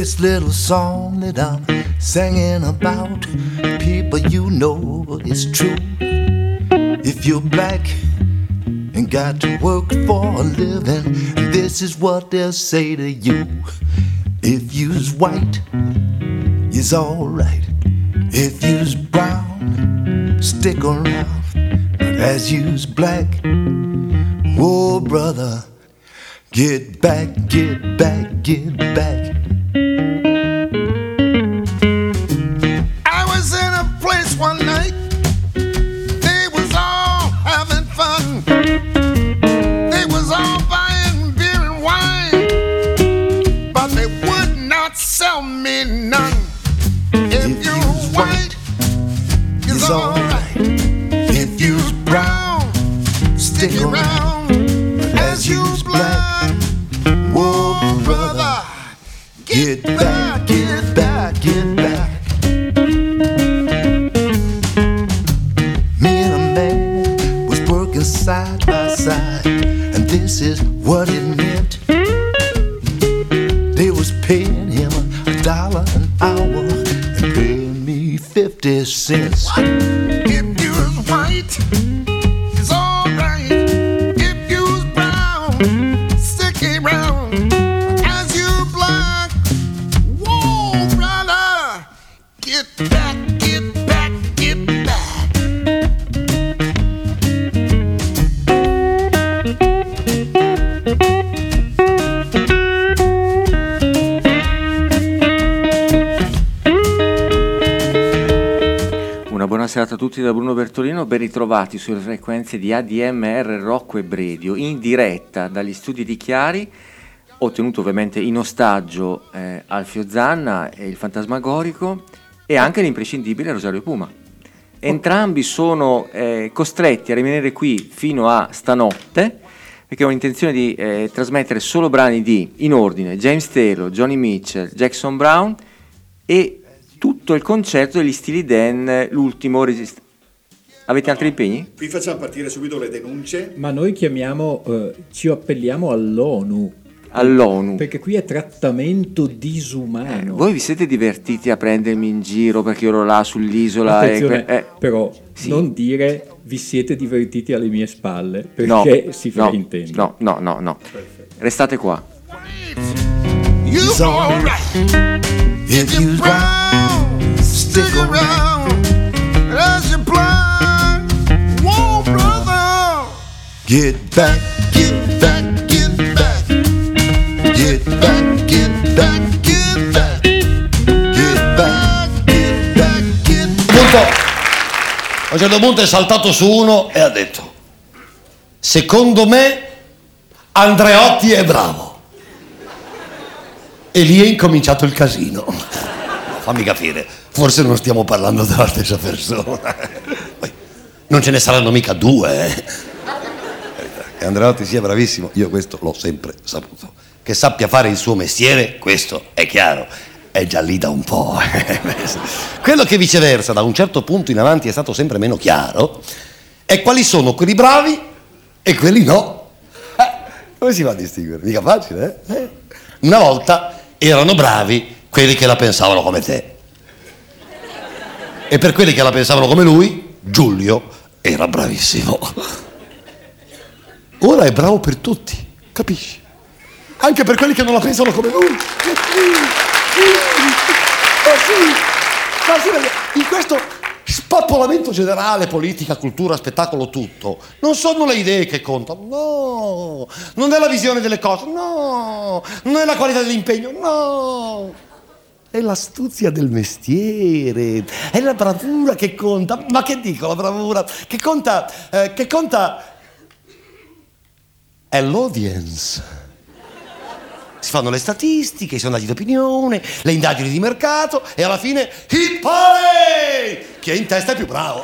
This little song that I'm singing about, people, you know it's true. If you're black and got to work for a living, this is what they'll say to you. If you's white, you's alright. If you's brown, stick around. But as you's black, oh brother, get back, get back, get back. I was in a place one night, they was all having fun. They was all buying beer and wine, but they would not sell me none. If you're white, it's alright. If you're brown, stick around. But as you's black, whoa brother, get back, get back, get back. Me and a man was working side by side, and this is what it meant. They was paying him $1 an hour and paying me 50 cents. If you was white, it's alright. If you was brown, stick around. As you black, whoa brother, get back, get back, get back. Una buona serata a tutti da Bruno Bertolino, ben ritrovati sulle frequenze di ADMR Rocco e Bredio, in diretta dagli studi di Chiari. Ho tenuto ovviamente in ostaggio Alfio Zanna e il Fantasmagorico e anche l'imprescindibile Rosario Puma. Entrambi sono costretti a rimanere qui fino a stanotte perché ho intenzione di trasmettere solo brani di, in ordine, James Taylor, Johnny Mitchell, Jackson Brown e tutto il concerto degli Steely Dan, l'ultimo Avete altri impegni? Qui facciamo partire subito le denunce. Ma noi ci appelliamo all'ONU. All'ONU. Perché qui è trattamento disumano. Voi vi siete divertiti a prendermi in giro perché ero là sull'isola? Però sì. Non dire vi siete divertiti alle mie spalle, perché no, si fraintende. No. Perfetto. Restate qua. It's alright. If you're brown, stick around. As you blind, whoa brother, get back, get back, get back. Get back, get back, get back. Get back, get back, get back. A un certo punto è saltato su uno e ha detto: secondo me Andreotti è bravo. E lì è incominciato il casino. Fammi capire, forse non stiamo parlando della stessa persona. Poi, non ce ne saranno mica due. Che Andreotti sia bravissimo, io questo l'ho sempre saputo. Che sappia fare il suo mestiere, questo è chiaro. È già lì da un po'. Quello che viceversa, da un certo punto in avanti, è stato sempre meno chiaro, è quali sono quelli bravi e quelli no. Come si fa a distinguere? Mica facile, eh? Una volta erano bravi quelli che la pensavano come te. E per quelli che la pensavano come lui, Giulio era bravissimo. Ora è bravo per tutti, capisci? Anche per quelli che non la pensano come lui. Ma sì, in questo spappolamento generale, politica, cultura, spettacolo, tutto, non sono le idee che contano, no, non è la visione delle cose, no, non è la qualità dell'impegno, no, è l'astuzia del mestiere, è la bravura che conta. Ma che dico la bravura? Che conta è l'audience. Si fanno le statistiche, i sondaggi d'opinione, le indagini di mercato e alla fine hit parade! Chi è in testa è più bravo.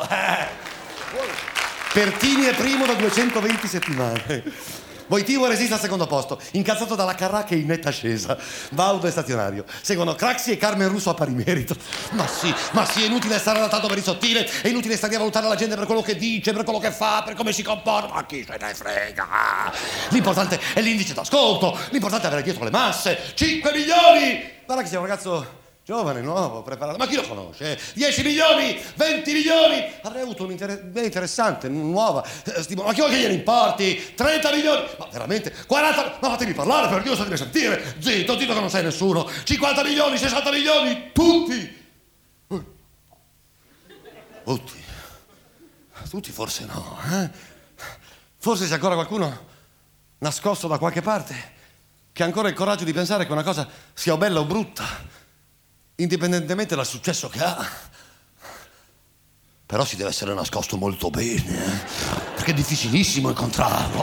Pertini è primo da 220 settimane. Voitivo resiste al secondo posto, incazzato dalla Carrà che è in netta ascesa. Baudo è stazionario. Seguono Craxi e Carmen Russo a pari merito. Ma sì, è inutile stare adattato per il sottile, è inutile stare a valutare la gente per quello che dice, per quello che fa, per come si comporta. Ma chi se ne frega? L'importante è l'indice d'ascolto, l'importante è avere dietro le masse. 5 milioni! guarda che sei un ragazzo giovane, nuovo, preparato. Ma chi lo conosce? 10 milioni, 20 milioni. Avrei avuto un'idea interessante, nuova. Ma chi vuoi che gliene importi? 30 milioni. Ma veramente? 40. Ma fatemi parlare, per Dio, so di sentire. Zitto, zitto che non sei nessuno. 50 milioni, 60 milioni, tutti. Tutti forse no, eh? Forse c'è ancora qualcuno nascosto da qualche parte che ha ancora il coraggio di pensare che una cosa sia o bella o brutta, indipendentemente dal successo che ha. Però si deve essere nascosto molto bene, perché è difficilissimo incontrarlo.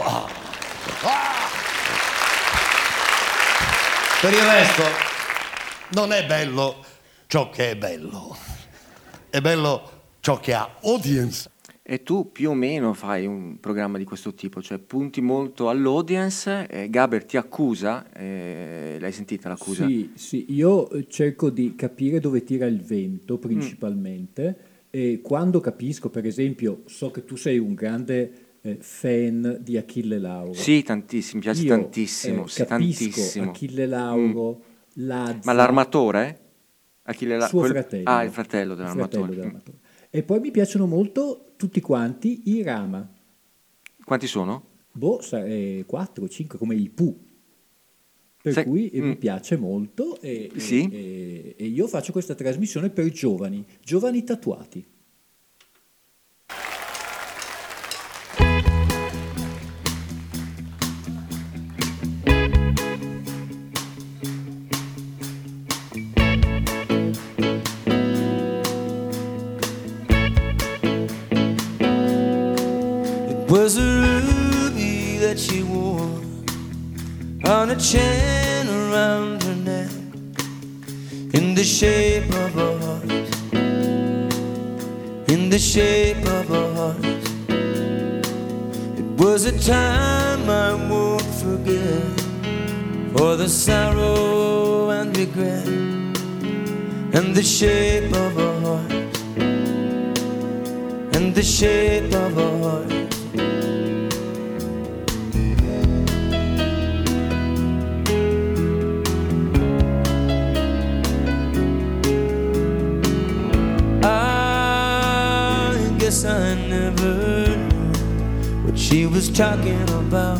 Per il resto, non è bello ciò che è bello. È bello ciò che ha audience. E tu più o meno fai un programma di questo tipo, cioè punti molto all'audience. Gaber ti accusa, l'hai sentita l'accusa? Sì, io cerco di capire dove tira il vento principalmente, e quando capisco, per esempio, so che tu sei un grande fan di Achille Lauro. Sì, tantissimo, mi piace tantissimo. Sì, capisco tantissimo. Achille Lauro, Lazza. Ma l'armatore? Suo fratello. Il fratello dell'armatore. E poi mi piacciono molto tutti quanti i Rama. Quanti sono? 4 o 5 come i Pooh. Per cui mi piace molto e io faccio questa trasmissione per giovani tatuati. Was a ruby that she wore on a chain around her neck, in the shape of a heart, in the shape of a heart. It was a time I won't forget, for the sorrow and regret, and the shape of a heart, and the shape of a heart. I never knew what she was talking about.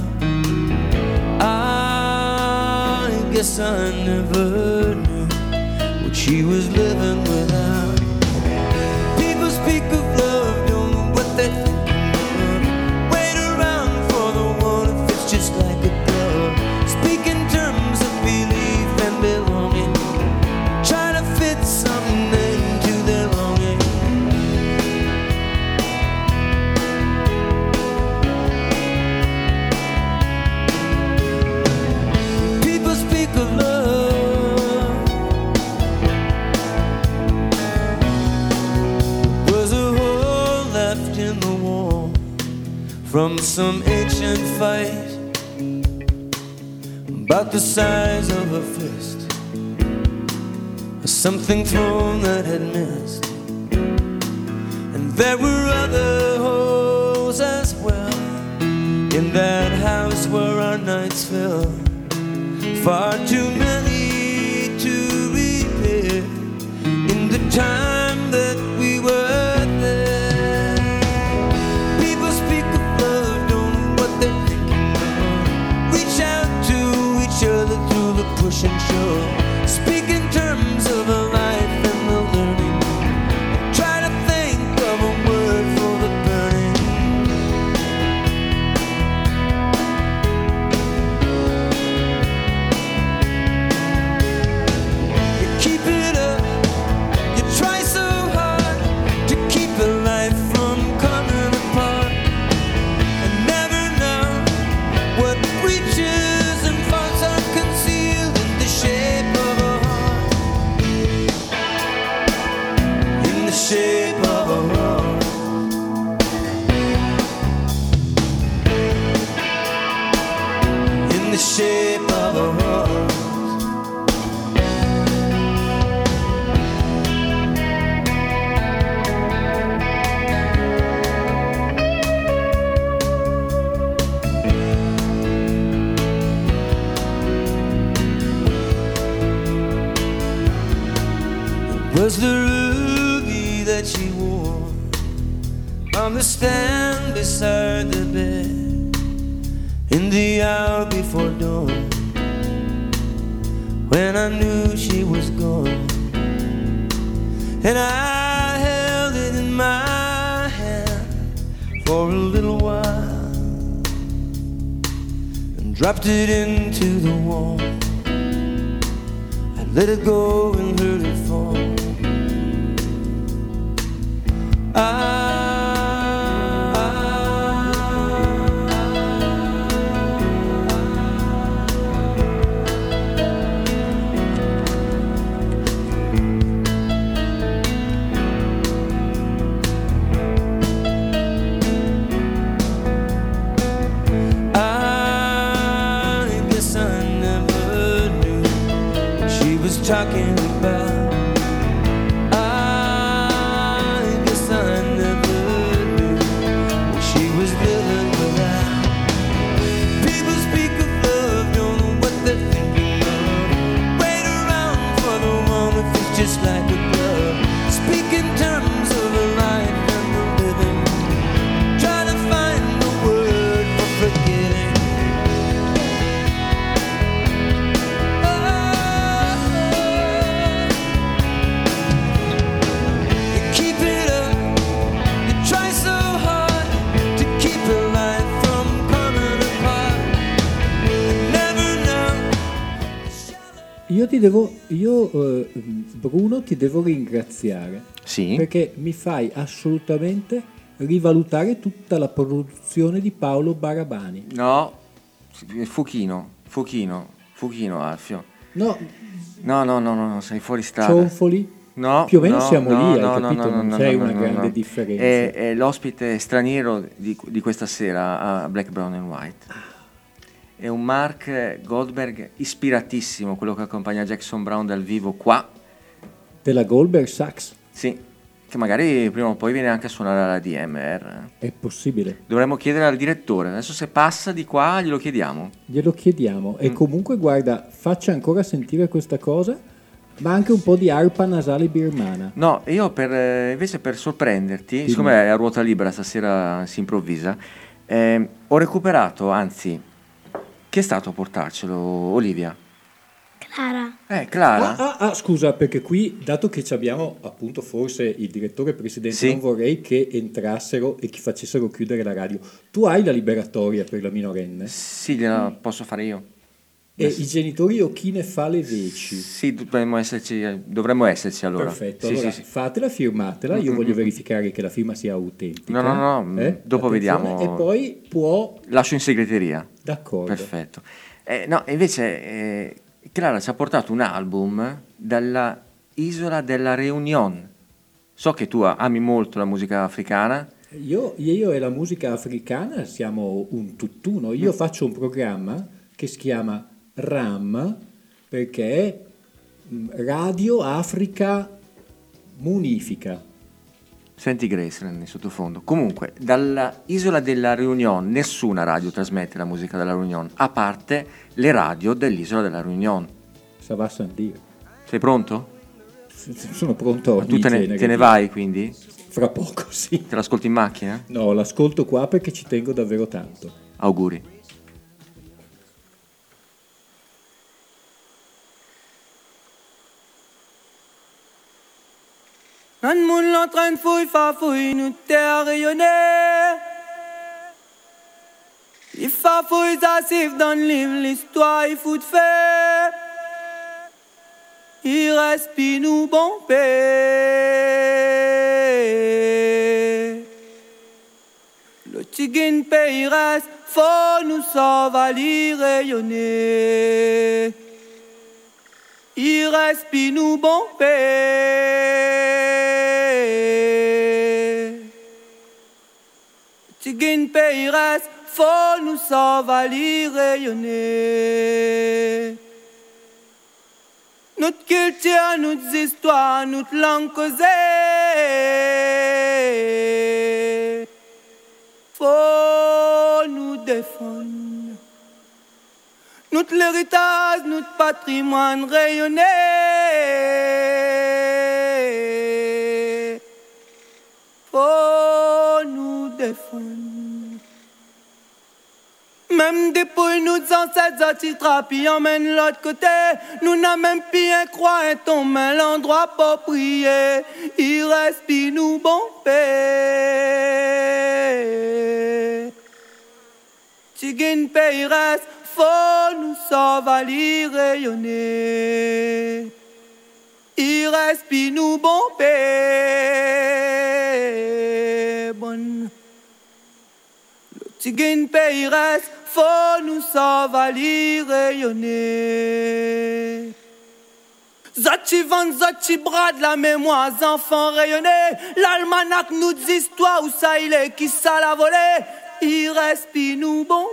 I guess I never knew what she was living without. People speak of love, don't know what they're thinking of. Wait around for the one if it's just like a glove. Speak in terms of belief and belonging. Try to fit something into their longing. Of love was a hole left in the wall from some ancient fight, about the size of a fist, something thrown that had missed. And there were other holes as well in that house where our nights fell. Far too many to repair in the time that we were there. People speak of love, don't know what they're thinking of. Reach out to each other through the push and shove. Speak in terms of a life and the learning. Try to think of a word for the burning. Shape of a heart. was the ruby that she wore on the stand beside the bed in the hour before dawn, when I knew she was gone. And I held it in my hand for a little while and dropped it into the wall. I let it go and heard it fall. Talking about, I guess I never knew what she was dealing with that. People speak of love, don't know what they're thinking of. Wait around for the one that feels just like a glove. Speak in terms of a life and the living. Try to find the word for forgetting. Bruno, ti devo ringraziare, Sì. perché mi fai assolutamente rivalutare tutta la produzione di Paolo Barabani. No, Fuchino, Alfio. No, No, sei fuori strada. Cionfoli, No, più o meno no, siamo no, lì, no, hai no, capito? no, Non no, c'è no, una no, grande no. differenza. È l'ospite straniero di questa sera a Black, Brown and White. È un Mark Goldberg ispiratissimo, quello che accompagna Jackson Browne dal vivo qua. Della Goldberg Sax, Sì, che magari prima o poi viene anche a suonare alla DMR. è possibile. Dovremmo chiedere al direttore, adesso se passa di qua glielo chiediamo. Glielo chiediamo. E comunque, guarda, faccia ancora sentire questa cosa, ma anche un po' di arpa nasale birmana. No, io invece per sorprenderti, siccome è a ruota libera stasera si improvvisa, ho recuperato, anzi, chi è stato a portarcelo, Olivia? Clara. Clara. Scusa, perché qui, dato che ci abbiamo appunto forse il direttore e il presidente, Sì. non vorrei che entrassero e che facessero chiudere la radio. Tu hai la liberatoria per la minorenne? Sì, gliela posso fare io. E i genitori o chi ne fa le veci? Sì, dovremmo esserci allora. Perfetto, Sì, allora sì, sì. fatela, firmatela, io voglio verificare che la firma sia autentica. No, dopo Attenzione, vediamo. E poi può... Lascio in segreteria. D'accordo. Perfetto. No, invece Clara ci ha portato un album dalla isola della Réunion. So che tu ami molto la musica africana. Io e la musica africana siamo un tutt'uno. Io faccio un programma che si chiama RAM, perché è Radio Africa Munifica. Senti Graceland in sottofondo. Comunque, dalla isola della Réunion nessuna radio trasmette la musica della Réunion, a parte le radio dell'isola della Réunion. Ça va sans dire. Sei pronto? Sono pronto a ogni Tu te genere. ne vai quindi? Fra poco, sì. Te l'ascolti in macchina? No, l'ascolto qua perché ci tengo davvero tanto. Auguri. Un moun l'entraîne fouille, fa fouille, nous t'es rayonné. Il fa fouille, ça siffle dans le livre, l'histoire, il fout de fait. Il respire nous bon paix. Le tigin pays reste, faut nous sauver, rayonner. Il respire nous bon paix. Tigin pays reste, faut nous sauver, rayonner. Notre culture, notre histoire, notre langue causée. Faut nous défendre. Notre héritage, notre patrimoine rayonné. faut nous défendre. Même depuis nous ancêtres qui trapi emmène l'autre côté, nous n'a même plus un croix et ton main l'endroit pour prier. Il respire nous bon paix. Tigine pays reste, faut nous sauver, rayonner. Il respire nous bon paix. Bonne. Le tigine pays reste, faut nous sauver, rayonner. Zoti vent, zoti brade, la mémoire, enfants rayonnés. L'almanach nous dit histoire où ça il est, qui ça l'a volé. Il respire nous bon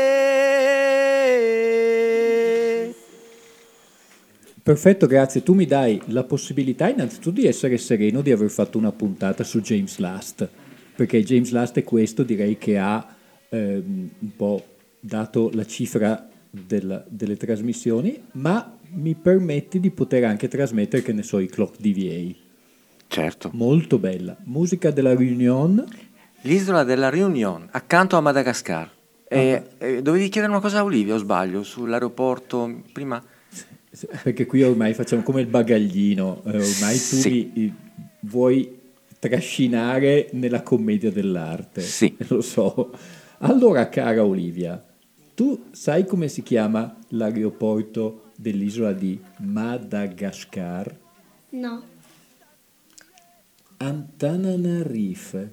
paix. Perfetto, grazie. Tu mi dai la possibilità innanzitutto di essere sereno di aver fatto una puntata su James Last, perché James Last è questo, direi che ha un po' dato la cifra delle trasmissioni, ma mi permetti di poter anche trasmettere, che ne so, i Clock DVA. Certo. Molto bella. Musica della Réunion. L'isola della Réunion, accanto a Madagascar. Dovevi chiedere una cosa a Olivia, o sbaglio, sull'aeroporto prima? Perché qui ormai facciamo come il bagaglino, ormai tu Sì. mi vuoi trascinare nella commedia dell'arte. Sì. Lo so. Allora, cara Olivia, tu sai come si chiama l'aeroporto dell'isola di Madagascar? No. Antananarife.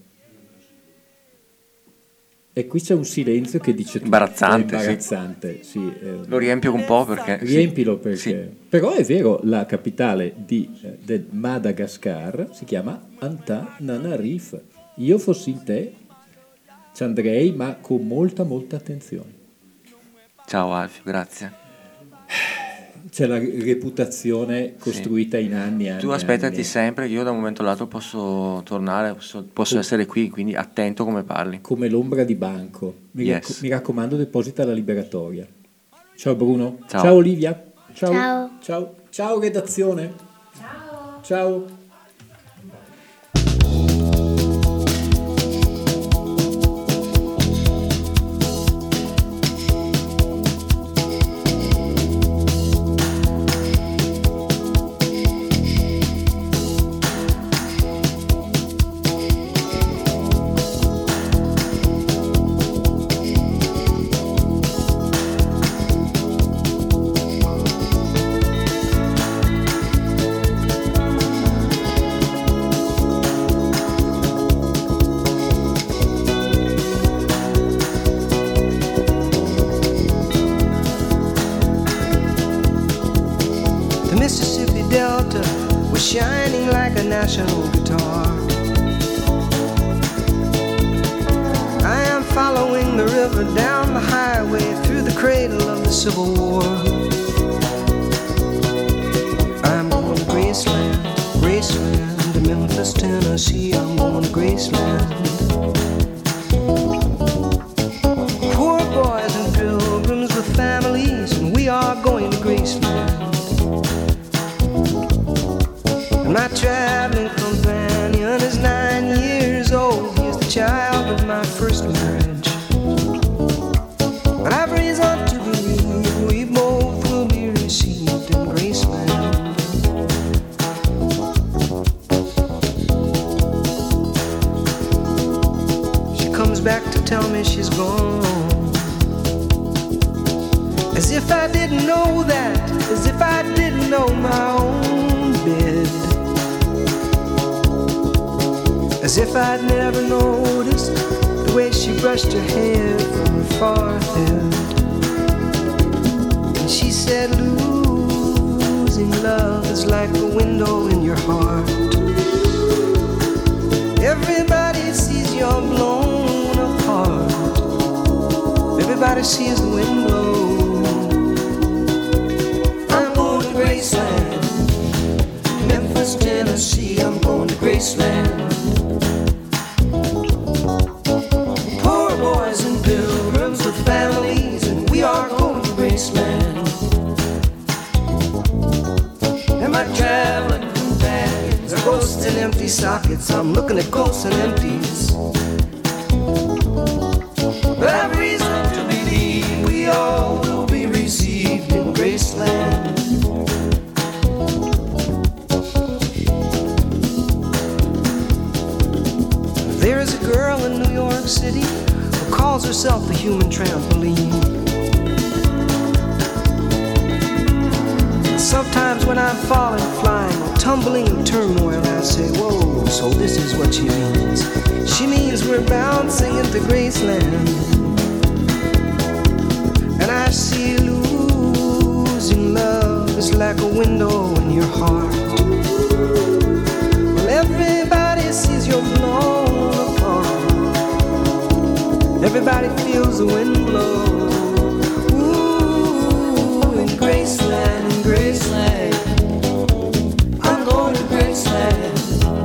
E qui c'è un silenzio che dice tutto. Imbarazzante, È imbarazzante, sì. Lo riempio un po' perché... Riempilo perché... Sì. Però è vero, la capitale del Madagascar si chiama Antananarife. Io fossi in te ci andrei, ma con molta attenzione. Ciao Alfio, grazie. C'è la reputazione costruita in anni. Tu aspettati sempre che io da un momento all'altro posso tornare, posso essere qui, quindi attento come parli. Come l'ombra di banco. Mi raccomando, deposita la liberatoria. Ciao Bruno. Ciao Olivia. Ciao. Ciao redazione. Ciao. Shining like a national guitar. I am following the river down the highway through the cradle of the Civil War. I'm going to Graceland, Graceland, to Memphis, Tennessee. I'm going to Graceland. Poor boys and pilgrims with families, and we are going to Graceland. My traveling companion is 9 years old. He is the child of my first marriage. But I've reason to believe we both will be received in Graceland. She comes back to tell me she's gone, as if I didn't know that, as if I didn't know my own bed. As if I'd never noticed the way she brushed her hair from her forehead. And she said, losing love is like a window in your heart. Everybody sees you're blown apart. Everybody sees the wind blow. I'm going to Graceland, Memphis, Tennessee. I'm going to Graceland. Families, and we are going to Graceland. And my traveling companions are going ghosts and empty sockets. I'm looking at ghosts and empties. But I have reason to believe we all will be received in Graceland. There is a girl in New York City who calls herself the human trampoline. Sometimes when I'm falling, flying, or tumbling in turmoil, I say, whoa, so this is what she means. She means we're bouncing into Graceland. And I see losing love is like a window in your heart. Well, everybody sees you're blown apart. Everybody feels the wind blow. Ooh, in Graceland, in Graceland. I'm going to Graceland.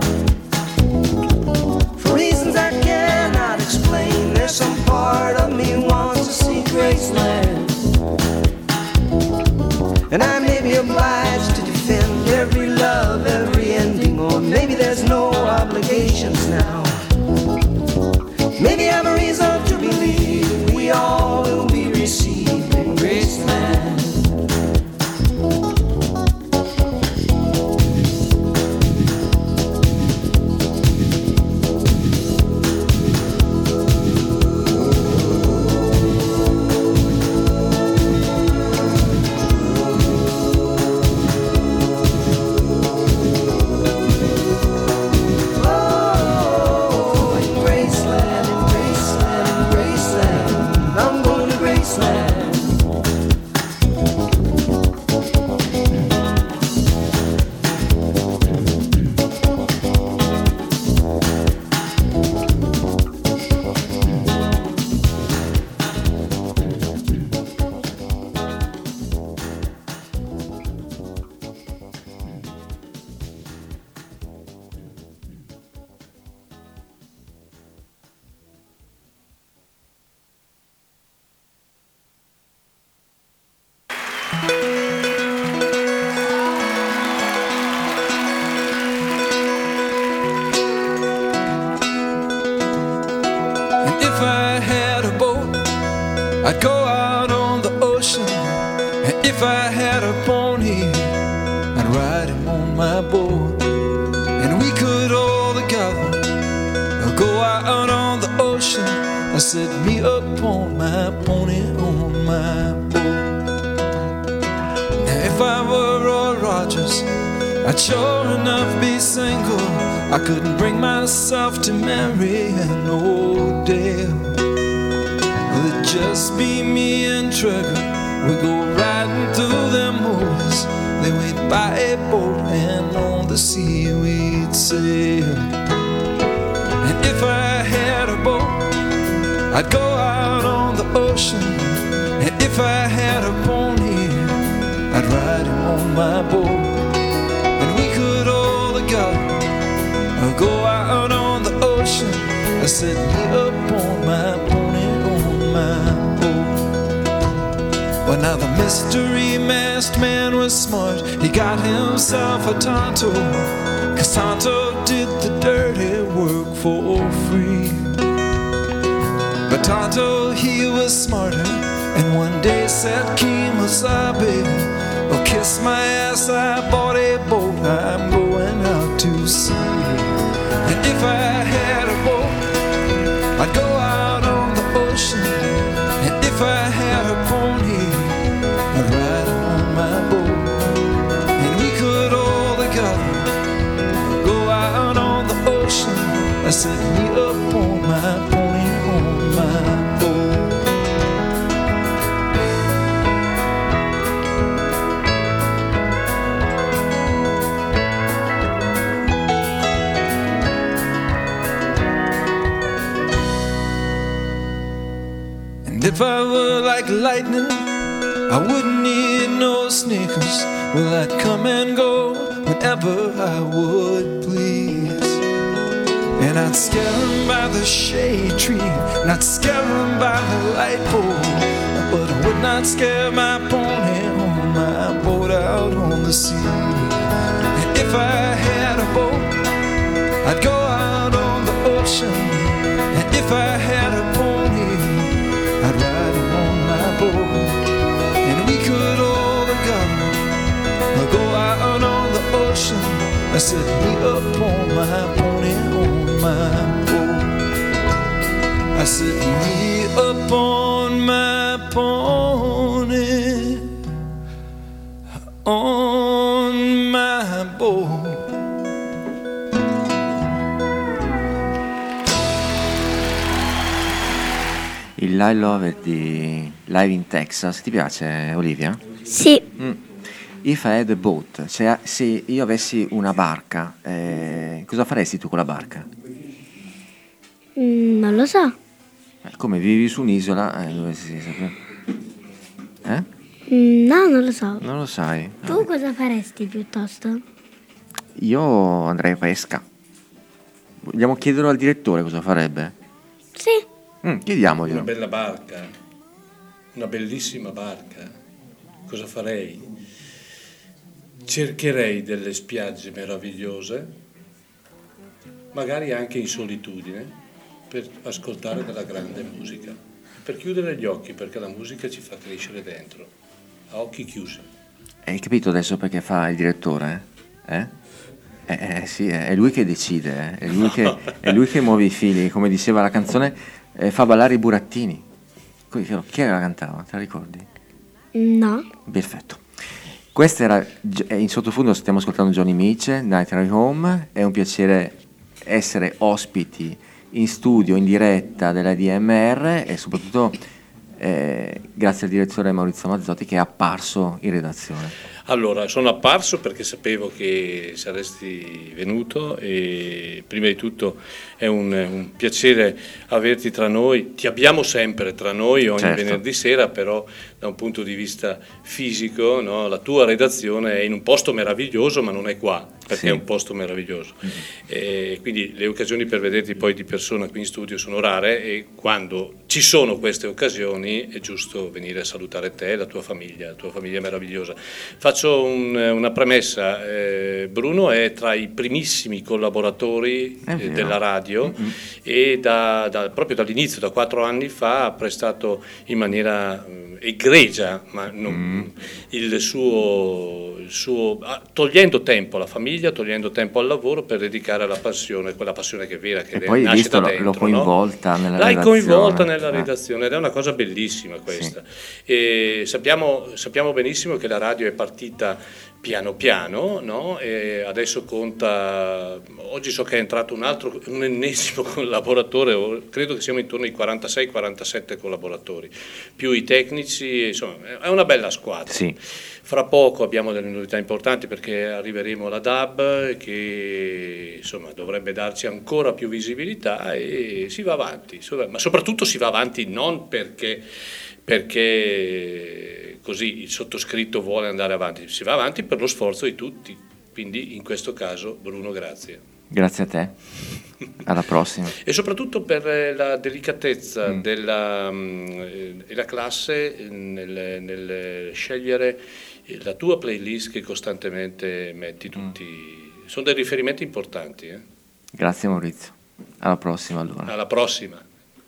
For reasons I cannot explain, there's some part of me wants to see Graceland. And I may be obliged to defend every love, every ending, or maybe there's no obligations now. Maybe I have a reason to believe we all will be received in Graceland. I'd go out on the ocean, and if I had a pony, I'd ride him on my boat, and we could all together go out on the ocean and set me up on my pony on my boat. Now if I were Roy Rogers, I'd sure enough be single. I couldn't bring myself to marry an old Dale. It'd just be me and Trigger. We go riding through them woods. Then we'd buy a boat and on the sea we'd sail. And if I had a boat, I'd go out on the ocean. And if I had a pony, I'd ride him on my boat. And we could all together go out on the ocean. I set me up on my pony on my boat. Well, now the mystery masked man was smart. He got himself a Tonto, 'cause Tonto did the dirty work for free. But Tonto, he was smarter, and one day said, Kemosabe, oh, kiss my ass, I bought a boat, I'm going out to sea. And if I had a boat, I'd go out on the ocean. And if I had a pony, I'd ride on my boat. And we could all together go out on the ocean. I set me up on my pony on my boat. If I were like lightning, I wouldn't need no sneakers. Well, I'd come and go whenever I would please. And I'd scare them by the shade tree, and I'd scare them by the light pole, but I would not scare my pony on my boat out on the sea. And if I had a boat, I'd go out on the ocean, and if I had a pony, I'd ride him on my boat, and we could all together go out on the ocean. I set me up on my pony, on my boat. I set me up on my pony, on my boat. Il I Love It di Live in Texas, ti piace, Olivia? Sì. If I had a boat, cioè se io avessi una barca, cosa faresti tu con la barca? Non lo so. Come vivi su un'isola, dovresti sapere. No, non lo so. Non lo sai? Tu cosa faresti piuttosto? Io andrei a pesca. Vogliamo chiederlo al direttore cosa farebbe? Sì. Chiediamoglielo. Una bella barca, una bellissima barca. Cosa farei? Cercherei delle spiagge meravigliose, magari anche in solitudine, per ascoltare della grande musica, per chiudere gli occhi, perché la musica ci fa crescere dentro, a occhi chiusi. Hai capito adesso perché fa il direttore? Sì, è lui che decide, è lui che muove i fili, come diceva la canzone, fa ballare i burattini. Chi era la cantava, te la ricordi? No. Perfetto. Questa era, in sottofondo stiamo ascoltando Johnny Mitch, Night Ride Home. È un piacere essere ospiti in studio, in diretta della DMR, e soprattutto grazie al direttore Maurizio Mazzotti che è apparso in redazione. Allora, sono apparso perché sapevo che saresti venuto, e prima di tutto è un piacere averti tra noi. Ti abbiamo sempre tra noi ogni venerdì sera, però da un punto di vista fisico, no? La tua redazione è in un posto meraviglioso, ma non è qua, perché è un posto meraviglioso. E quindi le occasioni per vederti poi di persona qui in studio sono rare, e quando ci sono queste occasioni è giusto venire a salutare te e la tua famiglia meravigliosa. Faccio una premessa, Bruno è tra i primissimi collaboratori della radio, e proprio dall'inizio, da 4 anni fa, ha prestato in maniera egregia, ma non, il suo togliendo tempo alla famiglia, togliendo tempo al lavoro per dedicare alla passione, quella passione che è vera, che poi nasce visto da dentro, l'ho coinvolta no? nella L'hai redazione. coinvolta nella redazione, ed è una cosa bellissima questa. E sappiamo benissimo che la radio è partita piano piano, no? E adesso conta, oggi so che è entrato un ennesimo collaboratore, credo che siamo intorno ai 46-47 collaboratori, più i tecnici, insomma è una bella squadra. Sì. Fra poco abbiamo delle novità importanti, perché arriveremo alla DAB, che insomma dovrebbe darci ancora più visibilità, e si va avanti, ma soprattutto si va avanti non perché così il sottoscritto vuole andare avanti, si va avanti per lo sforzo di tutti, quindi in questo caso Bruno, grazie. Grazie a te, alla prossima. E soprattutto per la delicatezza e la classe nel scegliere la tua playlist che costantemente metti tutti, sono dei riferimenti importanti. Grazie Maurizio, alla prossima allora. Alla prossima.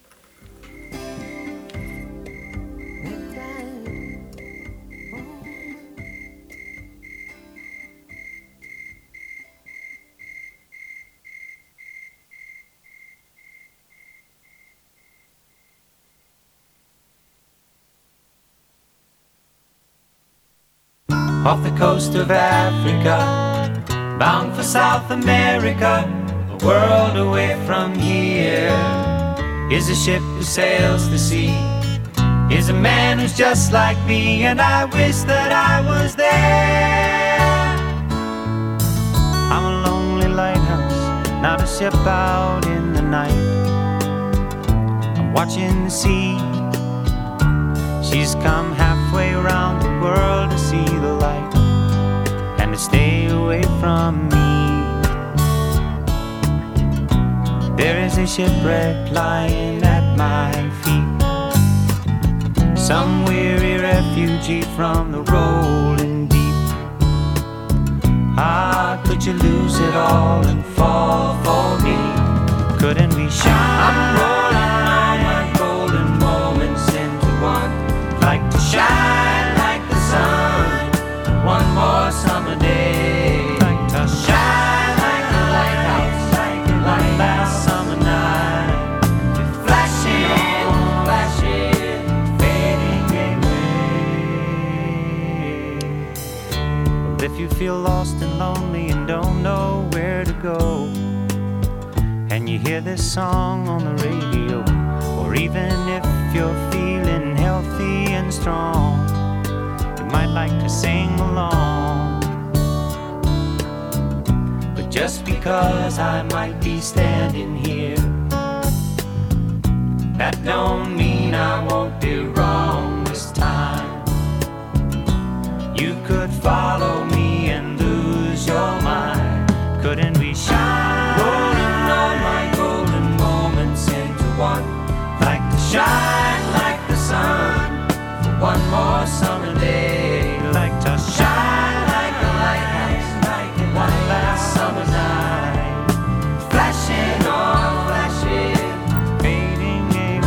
Off the coast of Africa, bound for South America, a world away from here, is a ship who sails the sea, is a man who's just like me, and I wish that I was there. I'm a lonely lighthouse, not a ship out in the night. I'm watching the sea, she's come halfway around the world to see the light and to stay away from me. There is a shipwreck lying at my feet, some weary refugee from the rolling deep. Ah, could would you lose it all and fall for me? Couldn't we shine? I'm rolling all my golden moments into one. Like to shine like the sun, one more summer day. Like to shine like a lighthouse, like last summer night. Flashing, flashing, fading away. Well, if you feel lost and lonely and don't know where to go, and you hear this song on the radio, or even if you're feeling healthy and strong, you might like to sing along. But just because I might be standing here, that don't mean I won't be wrong this time. You could follow me and lose your mind. Couldn't we shine? Rolling all my golden moments into one. Like to shine like the sun for one more summer day. Like to shine like a lighthouse, like one last summer night. Flashing on, flashing, fading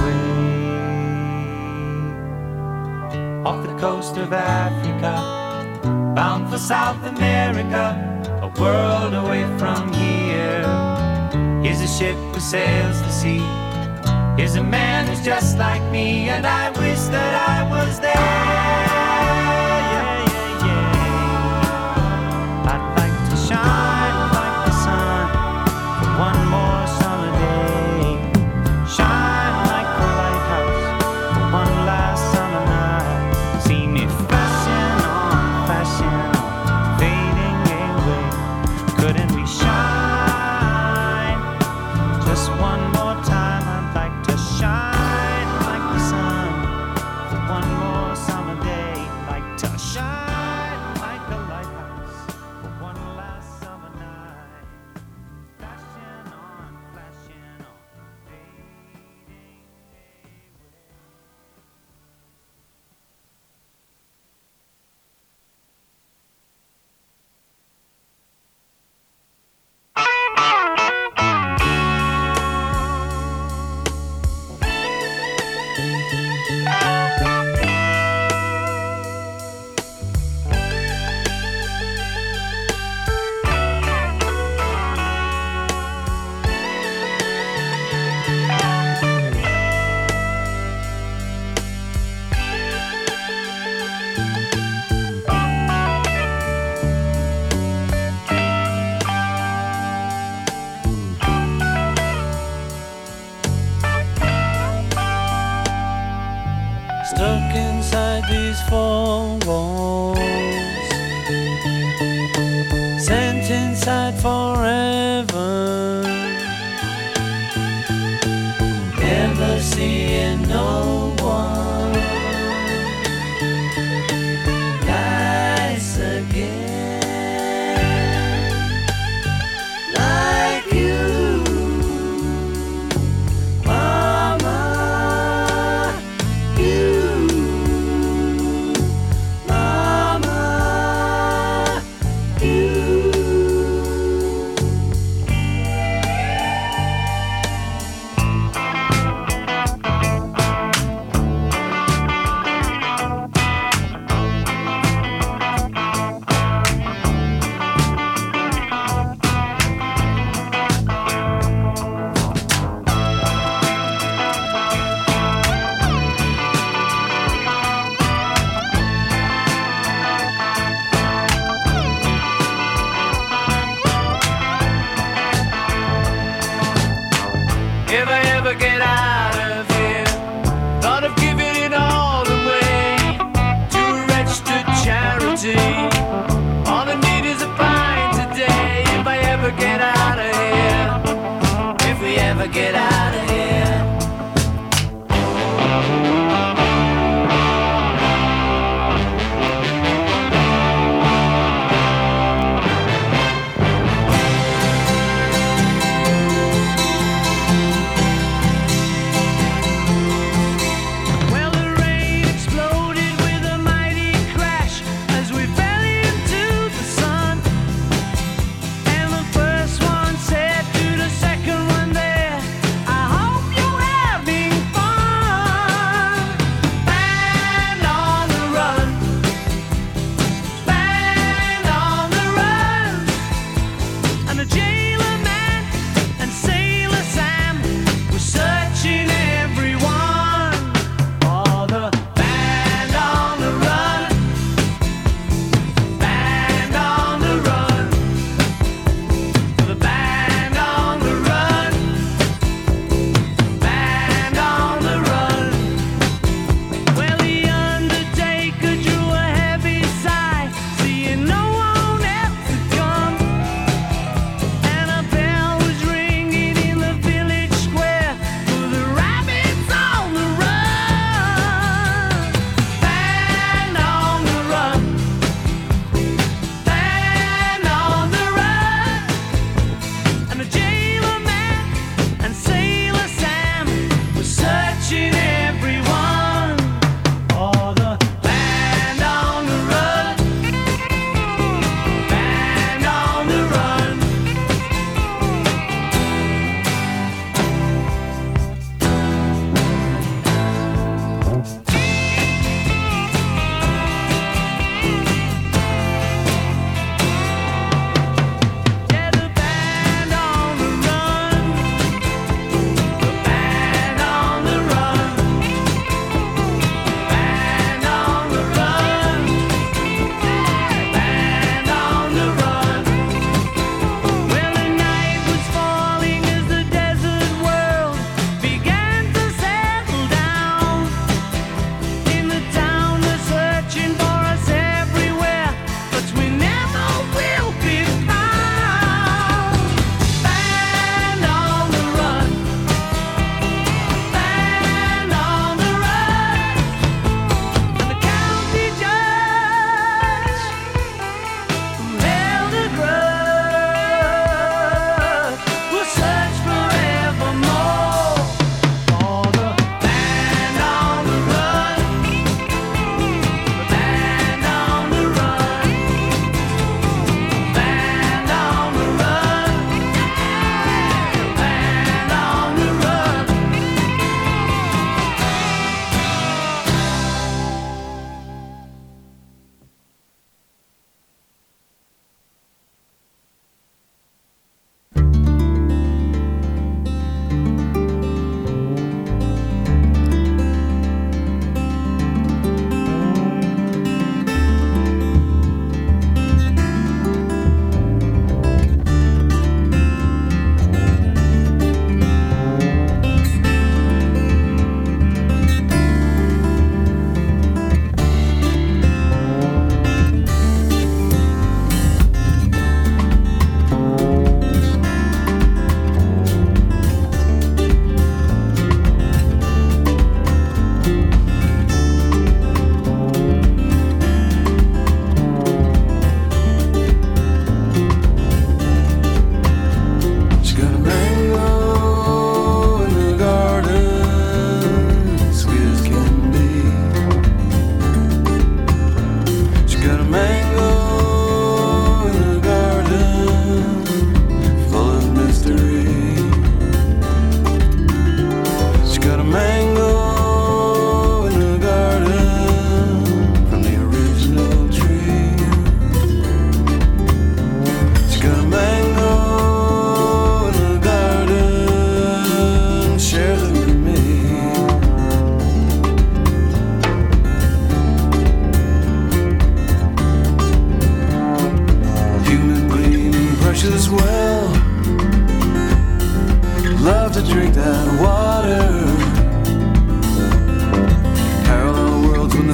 away. Off the coast of Africa, bound for South America, a world away from here. Here's a ship who sails the sea. Here's a man who's just like me, and I wish that I was there. Yeah, yeah, yeah. I'd like to shine like the sun for one more summer day. Shine like a lighthouse for one last summer night. See me flashing on, fading away. Couldn't we shine just one more time? I'd like to shine like the sun for one more summer day. Like to shine like a lighthouse for one last summer night. Flashing on, fading away. Stuck inside these four walls, sent inside forever, never seeing no one nice again like you, Mama.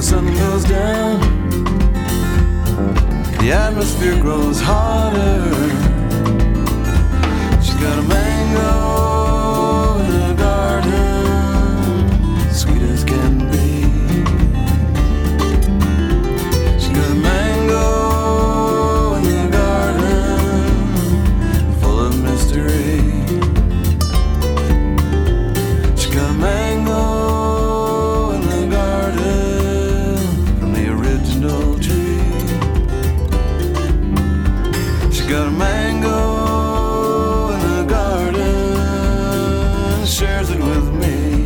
the sun goes down, the atmosphere grows hotter. She got a mango in the garden, sweet as can be. She got a mango in the garden, full of mystery. She got a mango in the garden from the original tree. She got a mango in the garden, shares it with me.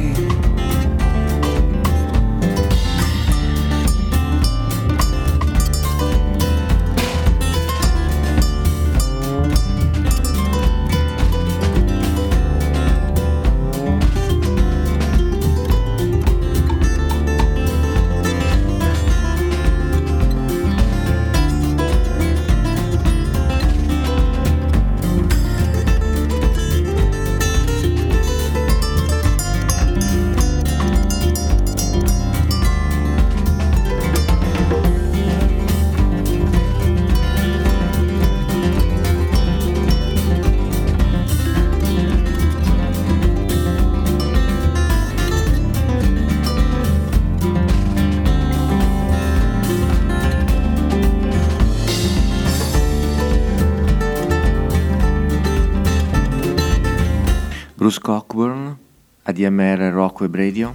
Bruce Cockburn, ADMR Rock Web Radio.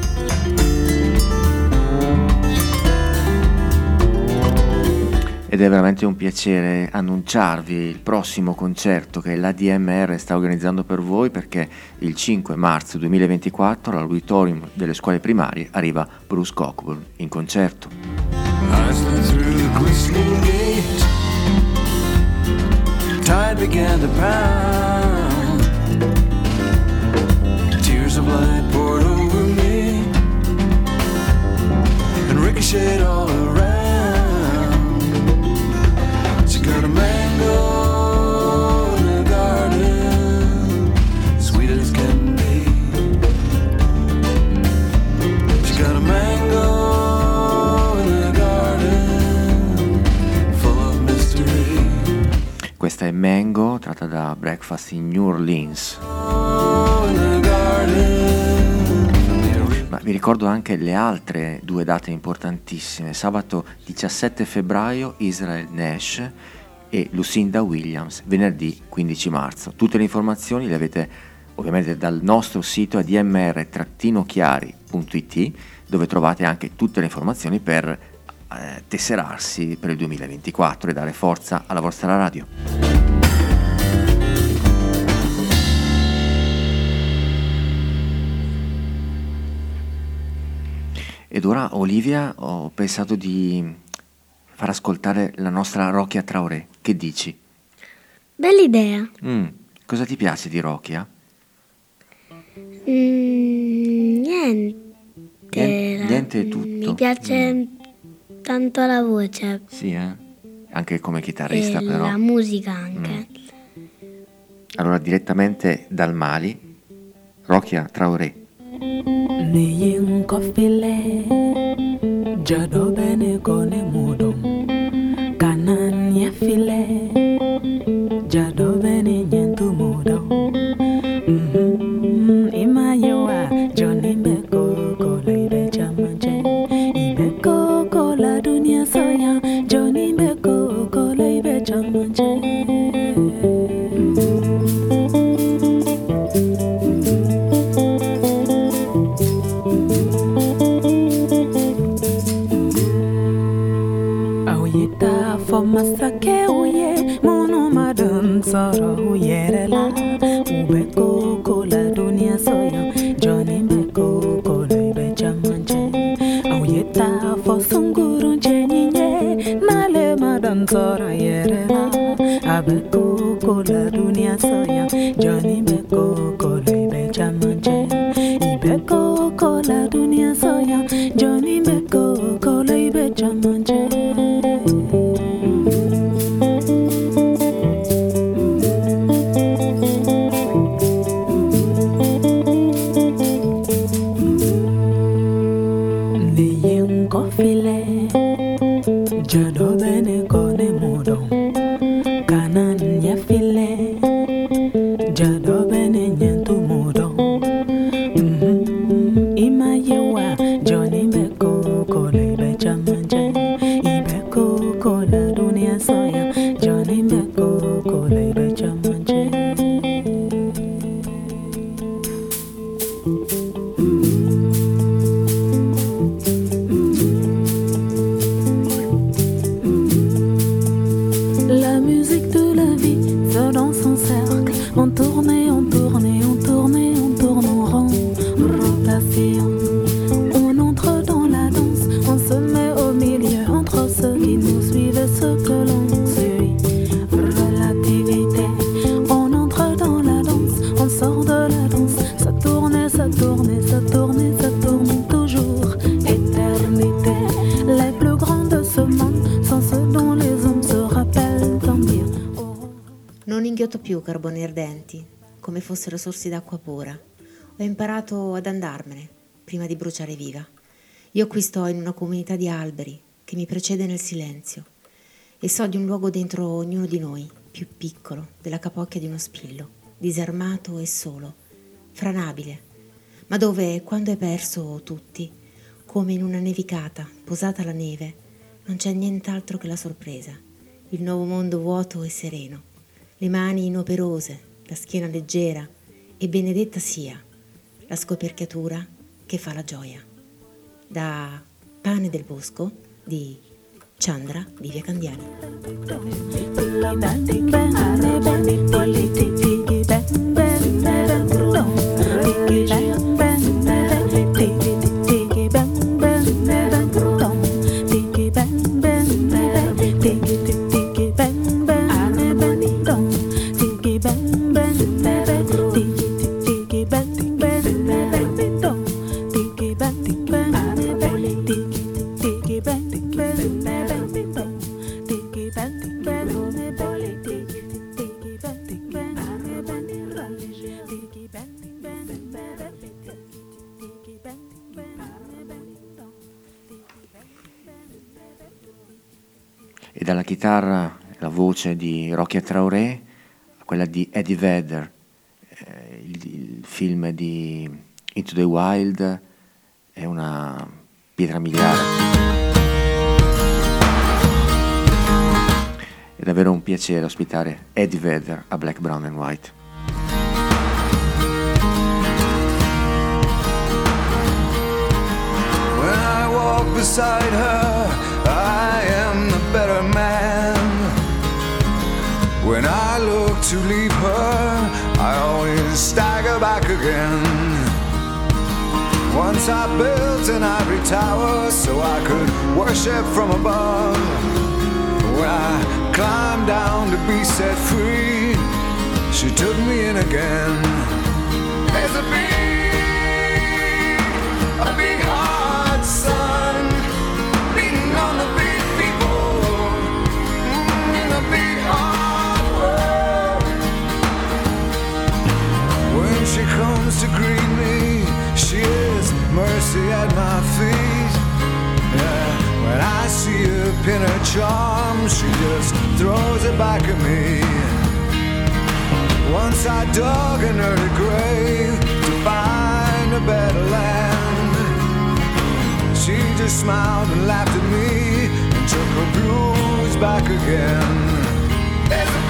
Ed è veramente un piacere annunciarvi il prossimo concerto che l'ADMR sta organizzando per voi, perché il 5 marzo 2024 all'Auditorium delle scuole primarie arriva Bruce Cockburn in concerto. I slipped through the glistening gate, tide began to pound, tears of light poured over me and ricocheted all around. She got a mango in the garden, sweet as can be. She got a mango in the garden, full of mystery. Questa è Mango, tratta da Breakfast in New Orleans. Ma vi ricordo anche le altre due date importantissime. Sabato 17 febbraio Israel Nash e Lucinda Williams, venerdì 15 marzo. Tutte le informazioni le avete ovviamente dal nostro sito admr-chiari.it, dove trovate anche tutte le informazioni per tesserarsi per il 2024 e dare forza alla vostra radio. Ed ora, Olivia, ho pensato di far ascoltare la nostra Rokia Traoré. Che dici? Bella idea. Cosa ti piace di Rokia? Niente è tutto. Mi piace tanto la voce. Sì, anche come chitarrista, e però. La musica anche. Allora, direttamente dal Mali, Rokia Traoré. Niyin kofile jado bene kone mudum kanan ya file jado bene nyentu mudum ima yewa joni beko kola ibe chamanje ibe kola dunia soya joni beko kola ibe chamanje. Masake uye mono madam soro uyerela ubeko kola dunia soya Johnny beko kola ibe chamanje auyeta fosunguru jeninye nale madam soro yerela abeko kola dunia soya Johnny beko kola ibe chamanje ibeko kola dunia soya Johnny beko kola ibe chamanje. Jado bene kone mudon kanan ya file Jado bene nyentu mudon Ima yewa Johnny Beko kole be chamanje Ibeko kola dunia soya Johnny Beko kole be chamanje La musique de la vie va dans son cercle. On tourne et on tourne et on tourne et on tourne en rond. Rotation. On entre dans la danse. On se met au milieu entre ceux qui nous suivent et ceux que l'on suit. Relativité. On entre dans la danse. On sort de la danse. Ça tourne et ça tourne et ça tourne et ça tourne toujours. Éternité. Les plus grands de ce monde sont ceux dont les hommes se rappellent tant bien. Non inghiotto più carboni ardenti, come fossero sorsi d'acqua pura. Ho imparato ad andarmene, prima di bruciare viva. Io qui sto in una comunità di alberi, che mi precede nel silenzio, e so di un luogo dentro ognuno di noi, più piccolo, della capocchia di uno spillo, disarmato e solo, franabile, ma dove, quando è perso tutti, come in una nevicata, posata la neve, non c'è nient'altro che la sorpresa, il nuovo mondo vuoto e sereno, le mani inoperose, la schiena leggera, e benedetta sia la scoperchiatura che fa la gioia. Da Pane del Bosco di Chandra Livia Candiani. E dalla chitarra, la voce di Rocky Traoré, a quella di Eddie Vedder, il film di Into the Wild è una pietra miliare. È davvero un piacere ospitare Eddie Vedder a Black, Brown and White. When I walk beside her, I am the better man. When I look to leave her, I always stagger back again. Once I built an ivory tower so I could worship from above. When I climbed down to be set free, she took me in again. There's a big hot sun beating on the big people in a big hard world. When she comes to greet me, she is mercy at my feet. Yeah, when I see her pin her charm, she just throws it back at me. Once I dug an early grave to find a better land. She just smiled and laughed at me and took her blues back again. There's a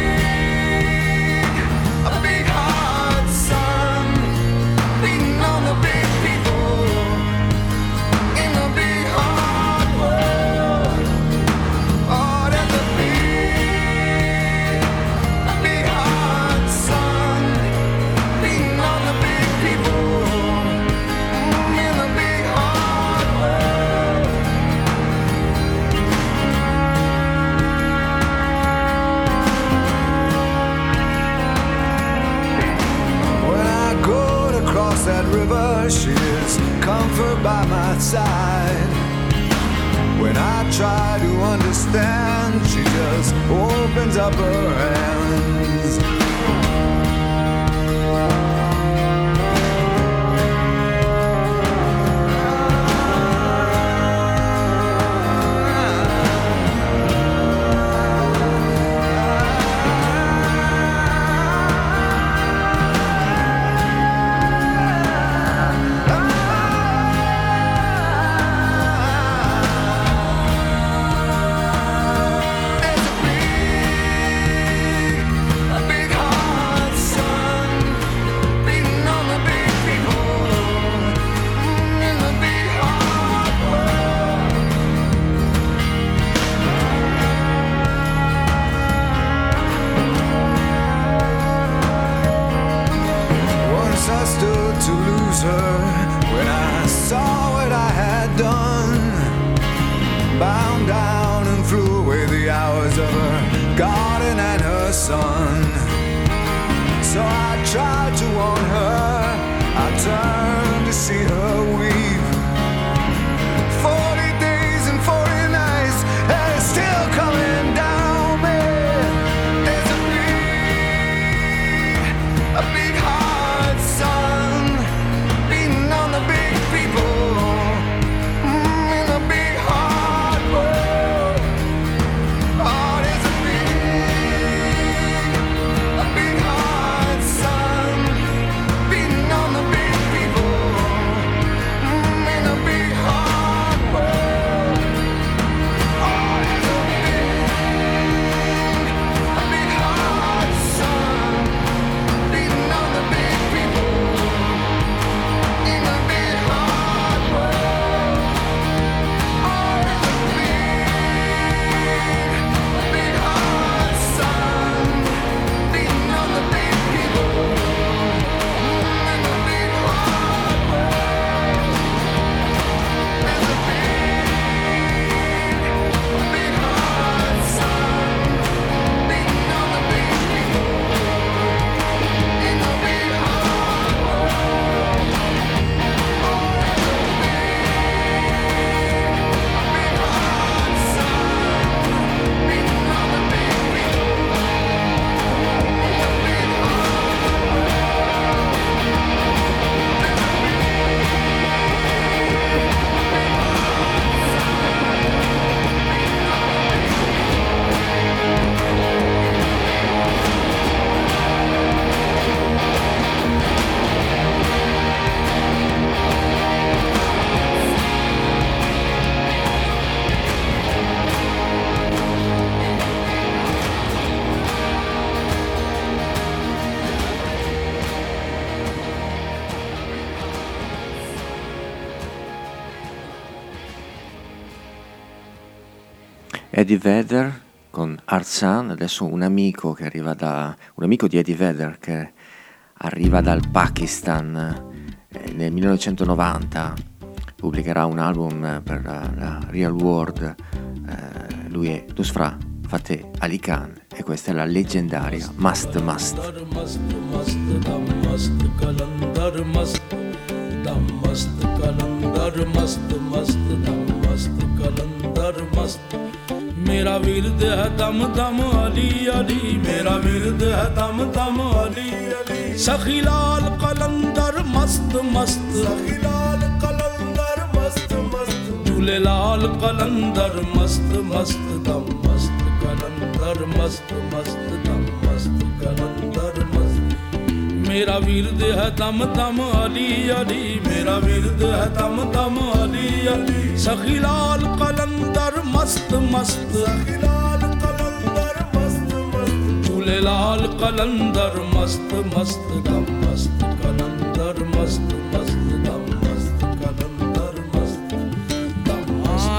big hot sun beating on the big people in the big hard world. Oh, there's a big hot sun beating on the big people in the big hard world. When I go to cross that river, she is comfort by my side. When I try to understand, she just opens up her hands. bound down and flew away the hours of her garden and her son. So I tried to warn her, I turned to see her weep. 40 days and 40 nights, and it's still coming down me. There's a big hard sun beating on the big people in a big hard world. Oh, there's a big hard sun beating on the big people in a big hard world. Oh, there's a big hard sun beating on the big people in a big hard world. Oh, there's a big hard sun beating on the big people in a big hard world. There's a big hard sun beating on the big people in a big hard world. Oh, there's a big hard sun beating on the big people in a big Eddie Vedder con Hard Sun, adesso un amico di Eddie Vedder che arriva dal Pakistan nel 1990, pubblicherà un album per la Real World, lui è Nusrat Fateh Ali Khan e questa è la leggendaria Mast Mast. मेरा विरद है दम दम अली अली मेरा विरद है दम दम अली अली सखी लाल कलंदर मस्त मस्त सखी लाल कलंदर मस्त मस्त झूले लाल कलंदर मस्त मस्त दम मस्त कलंदर मस्त मस्त दम मस्त कलंदर मस्त मेरा विरद है दम दम अली अली मेरा विरद है दम दम अली अली सखी लाल कलंदर मस्त मस्त सखी लाल कलंदर मस्त मस्त झूले लाल कलंदर मस्त मस्त दम मस्त कलंदर मस्त मस्त दम मस्त कलंदर मस्त दम मस्त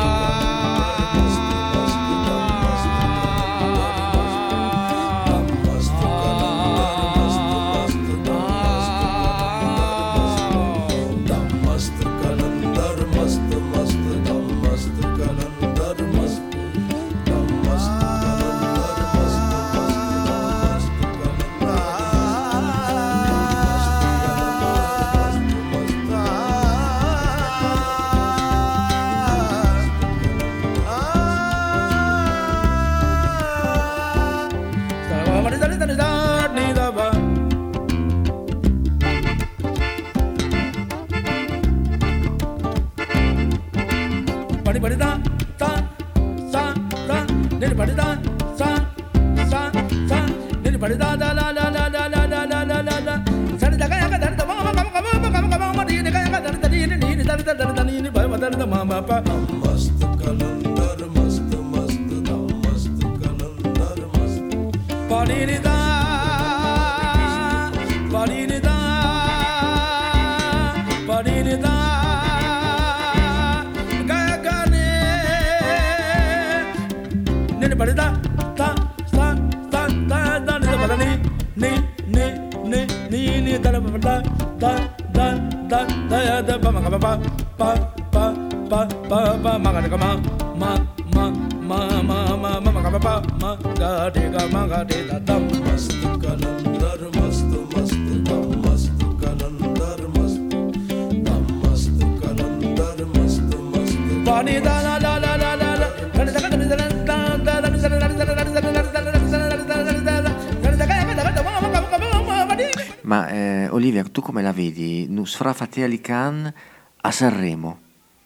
Ma Olivia, tu come la vedi? Nusra Fateh Ali Khan a Sanremo?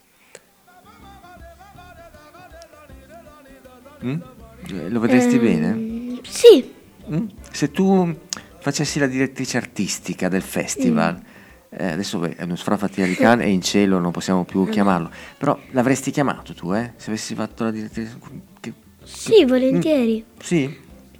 Lo vedresti bene? Sì. Se tu facessi la direttrice artistica del festival, adesso Nusra Fateh Ali Khan è in cielo, non possiamo più chiamarlo, però l'avresti chiamato tu, se avessi fatto la direttrice? Sì, volentieri. Sì?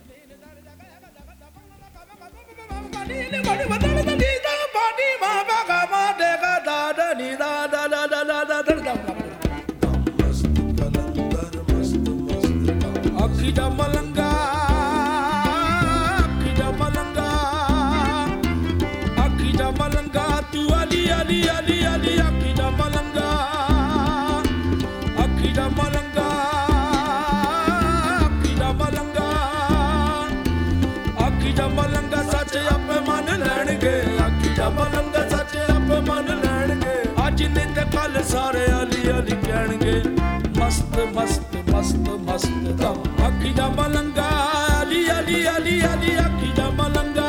सारे अली अली कहणगे मस्त मस्त मस्त मस्त दम अखी दा मलंगा अली अली अली अली अखी दा मलंगा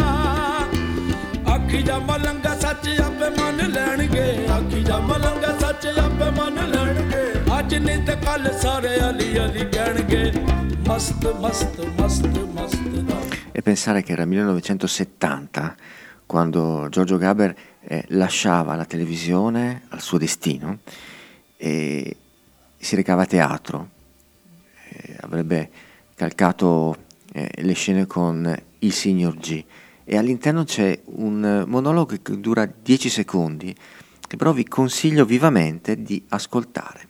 सच आपे मन लैणगे अखी दा मलंगा सच आपे मन लैणगे अज नहीं ते कल सारे अली अली कहणगे मस्त मस्त मस्त मस्त दम. E pensare che era 1970 quando Giorgio Gaber lasciava la televisione al suo destino e si recava a teatro, avrebbe calcato le scene con il signor G, e all'interno c'è un monologo che dura 10 secondi che però vi consiglio vivamente di ascoltare.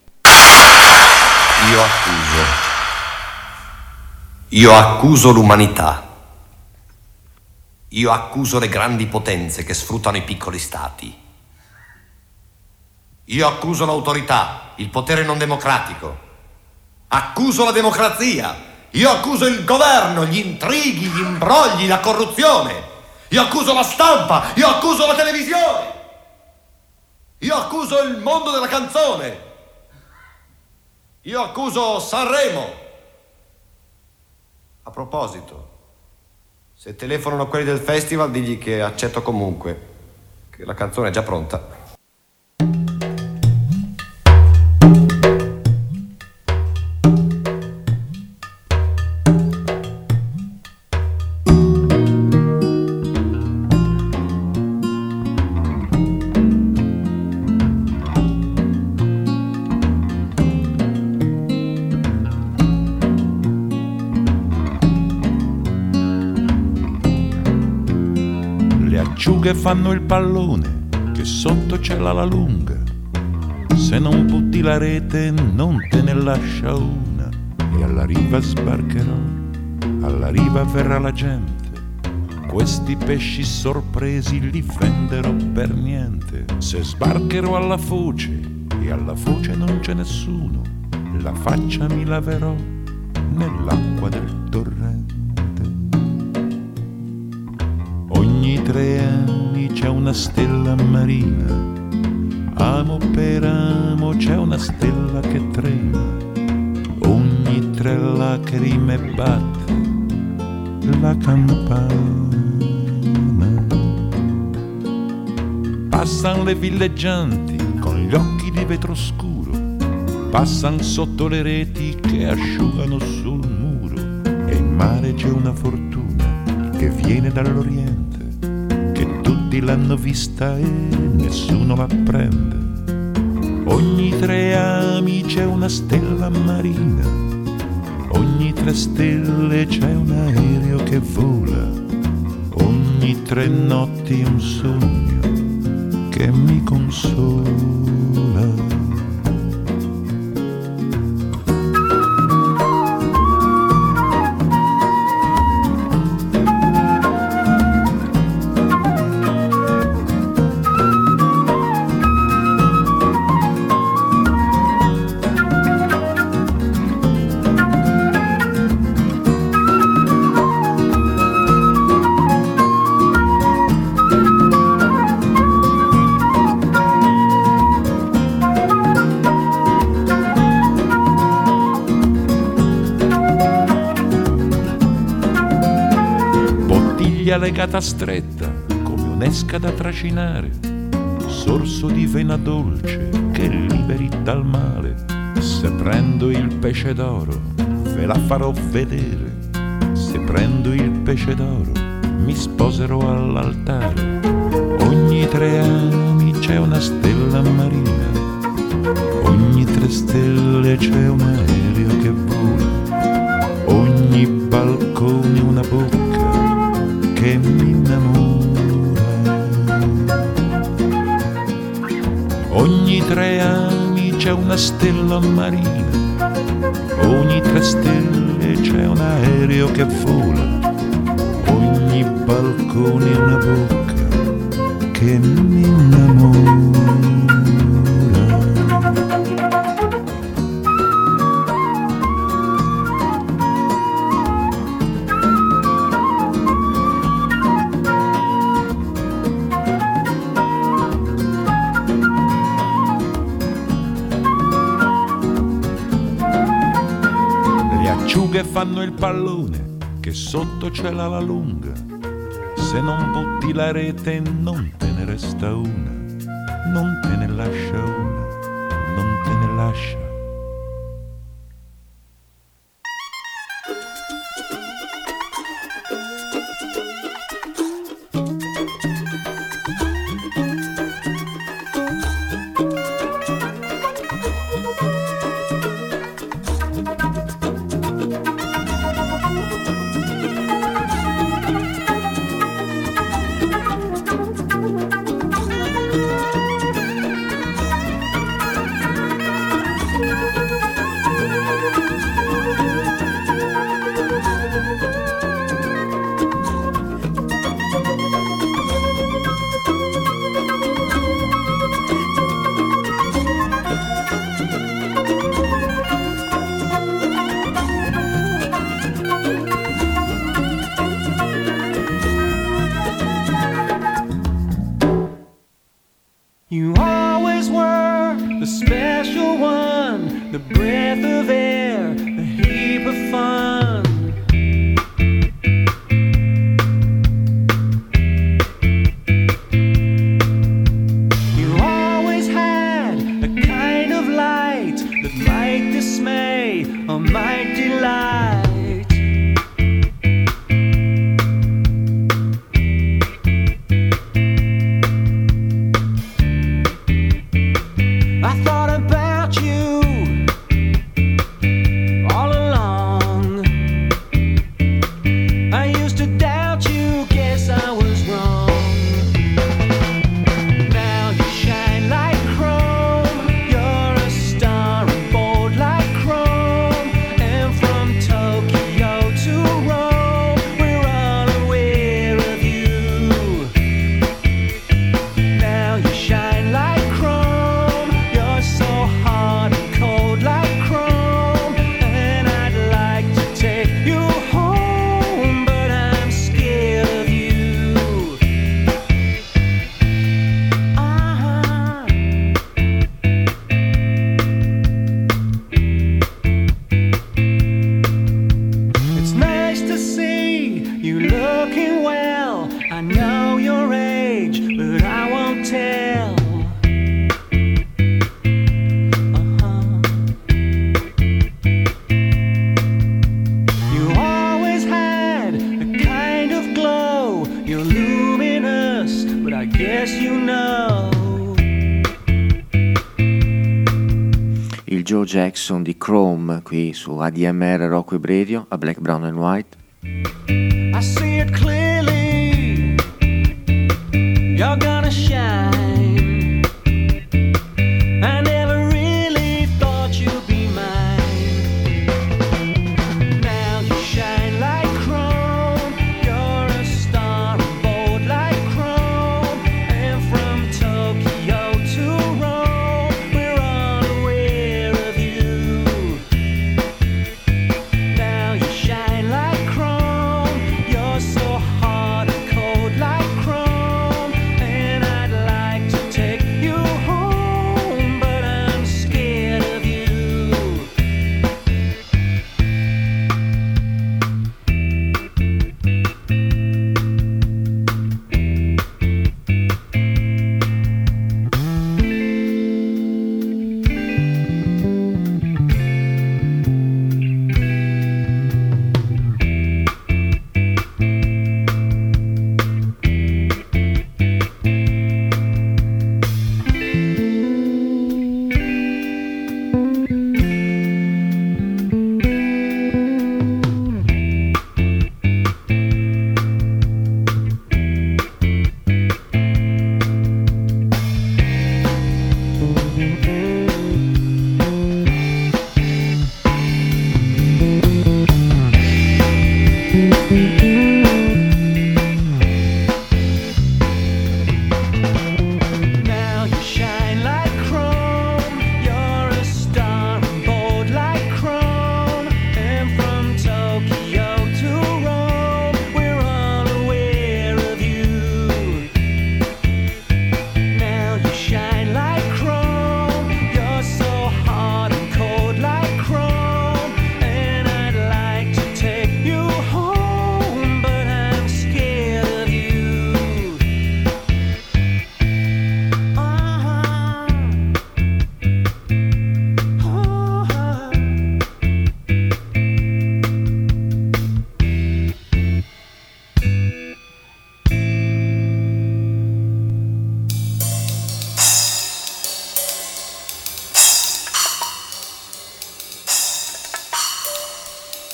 Io accuso l'umanità. Io accuso le grandi potenze che sfruttano i piccoli stati. Io accuso l'autorità, il potere non democratico. Accuso la democrazia. Io accuso il governo, gli intrighi, gli imbrogli, la corruzione. Io accuso la stampa. Io accuso la televisione. Io accuso il mondo della canzone. Io accuso Sanremo. A proposito, se telefonano quelli del festival, digli che accetto comunque, che la canzone è già pronta. Che fanno il pallone, che sotto c'è l'ala lunga, se non butti la rete non te ne lascia una, e alla riva sbarcherò, alla riva verrà la gente, questi pesci sorpresi li venderò per niente, se sbarcherò alla foce e alla foce non c'è nessuno, la faccia mi laverò nell'acqua del torrente. Ogni 3 anni c'è una stella marina, amo per amo c'è una stella che trema, ogni 3 lacrime batte la campana. Passan le villeggianti con gli occhi di vetro scuro, passan sotto le reti che asciugano sul muro, e in mare c'è una fortuna che viene dall'Oriente, che tutti l'hanno vista e nessuno la prende. Ogni 3 ami c'è una stella marina, ogni 3 stelle c'è un aereo che vola, ogni 3 notti un sogno che mi consola. via legata stretta come un'esca da tracinare, sorso di vena dolce che liberi dal male. Se prendo il pesce d'oro ve la farò vedere, se prendo il pesce d'oro mi sposerò all'altare. Ogni 3 anni c'è una stella marina, ogni 3 stelle c'è un aereo che vola, ogni balcone una bocca che mi innamora. Ogni 3 anni c'è una stella marina, ogni 3 stelle c'è un aereo che vola, ogni balcone una bocca che mi innamora. Che fanno il pallone, che sotto c'è la lunga. Se non butti la rete non te ne resta una, non te ne lascia una, non te ne lascia. You always were the special one, the breath of air, the heap of fun. You always had a kind of light that might dismay or might delight. Joe Jackson di Chrome qui su ADMR Rocco e Radio a Black, Brown and White. I see it clearly, you're gonna shine. I never really thought you'd be mine. Now you shine like chrome, you're a star bold like chrome. And from Tokyo to Rome, we're all aware of you. Now you shine like chrome, you're so hard and cold like chrome. And I'd like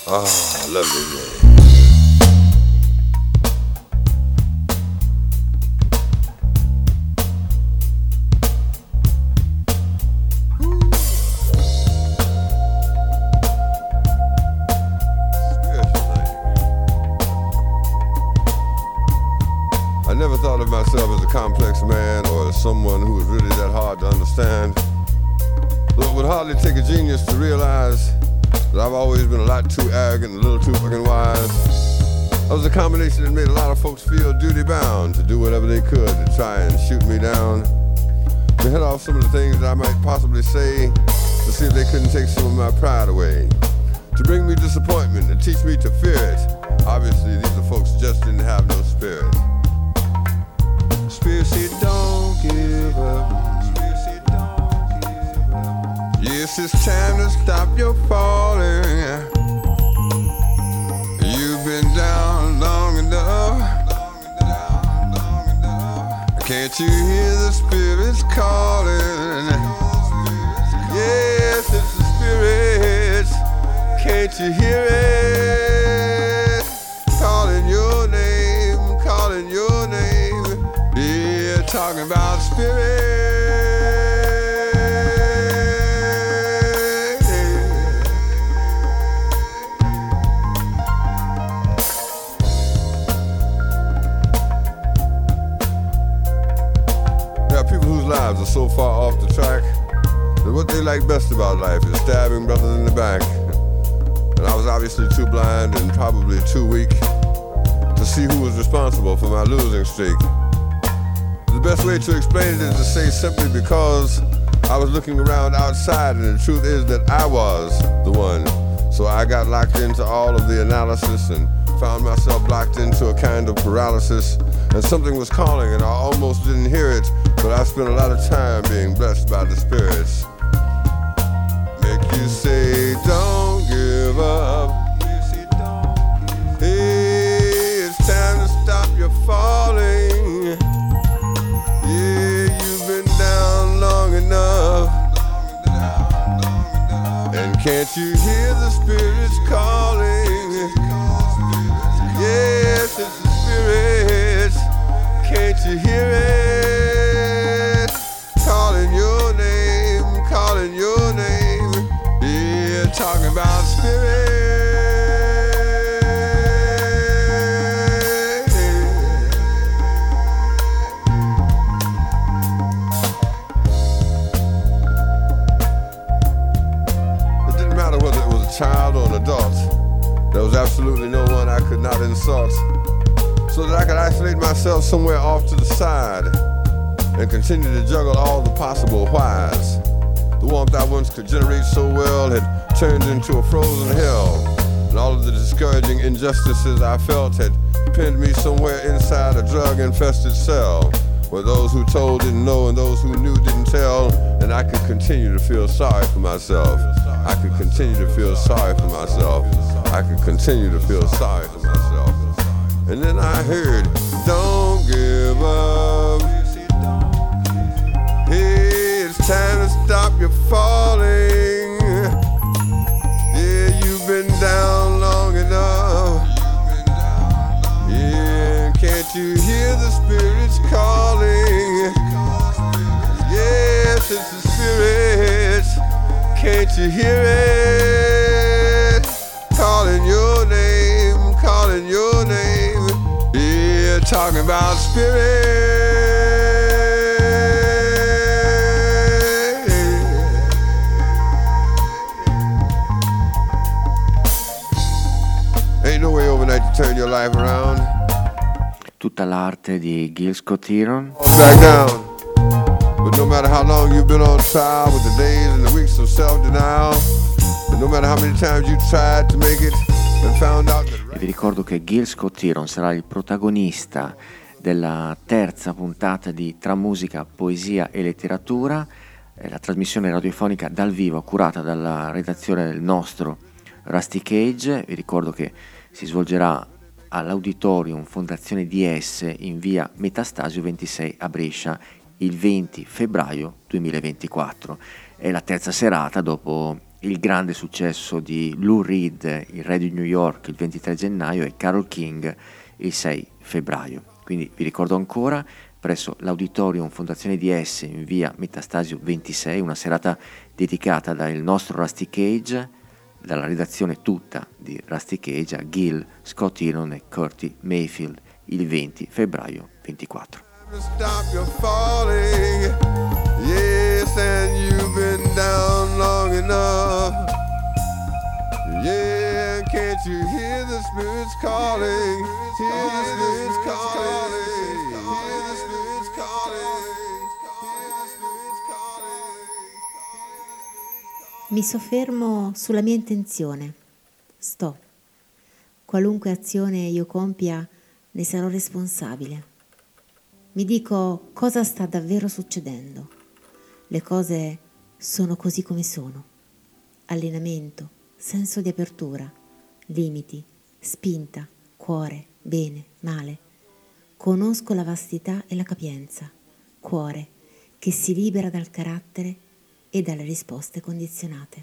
Oh, lovely day. I never thought of myself as a complex man or as someone who was really that hard to understand. Though it would hardly take a genius to realize that I've always been a lot too arrogant and a little too fucking wise. I was a combination that made a lot of folks feel duty bound to do whatever they could to try and shoot me down. To head off some of the things that I might possibly say to see if they couldn't take some of my pride away. To bring me disappointment and teach me to fear it. Obviously these are folks just didn't have no spirit. Spirit said don't give up. Yes, it's time to stop your falling. You've been down long enough. Can't you hear the spirits calling? Yes, it's the spirits. Can't you hear it? Calling your name, calling your name. Yeah, talking about spirits. Lives are so far off the track that what they like best about life is stabbing brothers in the back. And I was obviously too blind and probably too weak to see who was responsible for my losing streak. The best way to explain it is to say simply because I was looking around outside and the truth is that I was the one. So I got locked into all of the analysis and found myself locked into a kind of paralysis. And something was calling and I almost didn't hear it, but I spent a lot of time being blessed by the spirits. Make you say, don't give up. Hey, it's time to stop your falling. Yeah, you've been down long enough. And can't you hear the spirits calling? Yes, it's the spirits. Can't you hear it? Calling your name, calling your name. Yeah, talking about spirit. It didn't matter whether it was a child or an adult. There was absolutely no one I could not insult, so that I could isolate myself somewhere off to the side and continue to juggle all the possible whys. The warmth I once could generate so well had turned into a frozen hell, and all of the discouraging injustices I felt had pinned me somewhere inside a drug-infested cell, where those who told didn't know and those who knew didn't tell, and I could continue to feel sorry for myself. I could continue to feel sorry for myself. I could continue to feel sorry for myself. And then I heard, don't give up. Hey, it's time to stop your falling. Yeah, you've been down long enough. Yeah, can't you hear the spirits calling? Yes, it's the spirits. Can't you hear it? Calling your name, calling your name. Yeah, talking about spirit. Ain't no way overnight to turn your life around. Tutta l'arte di Gil Scott-Heron. Back down. But no matter how long you've been on trial with the days and the weeks of self-denial, and no matter how many times you tried to make it and found out that... E vi ricordo che Gil Scott-Heron sarà il protagonista della terza puntata di Tra musica, poesia e letteratura, la trasmissione radiofonica dal vivo curata dalla redazione del nostro Rusty Cage. Vi ricordo che si svolgerà all'Auditorium Fondazione DS in via Metastasio 26 a Brescia il 20 febbraio 2024. È la terza serata dopo il grande successo di Lou Reed, il re di New York, il 23 gennaio e Carole King il 6 febbraio. Quindi vi ricordo ancora, presso l'Auditorium Fondazione DS in via Metastasio 26, una serata dedicata dal nostro Rusty Cage, dalla redazione tutta di Rusty Cage, a Gil, Scott Iron e Curtis Mayfield il 20 febbraio 24. Stop your falling, yes, and you've been down long enough. Yeah, can't you hear the spirits calling? Hear the spirits calling. Hear the spirits calling. Mi soffermo sulla mia intenzione. Sto. Qualunque azione io compia, ne sarò responsabile. Mi dico cosa sta davvero succedendo. Le cose sono così come sono. Allenamento, senso di apertura, limiti, spinta, cuore, bene, male. Conosco la vastità e la capienza, cuore che si libera dal carattere e dalle risposte condizionate.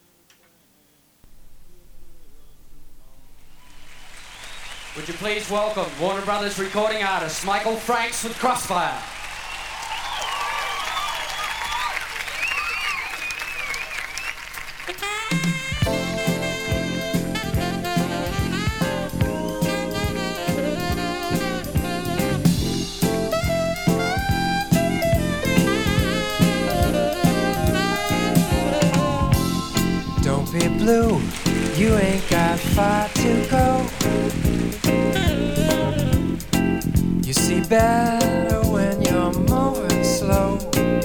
Would you please welcome Warner Brothers recording artist Michael Franks with Crossfire. Don't be blue, you ain't got far to go. You see better when you're moving slow.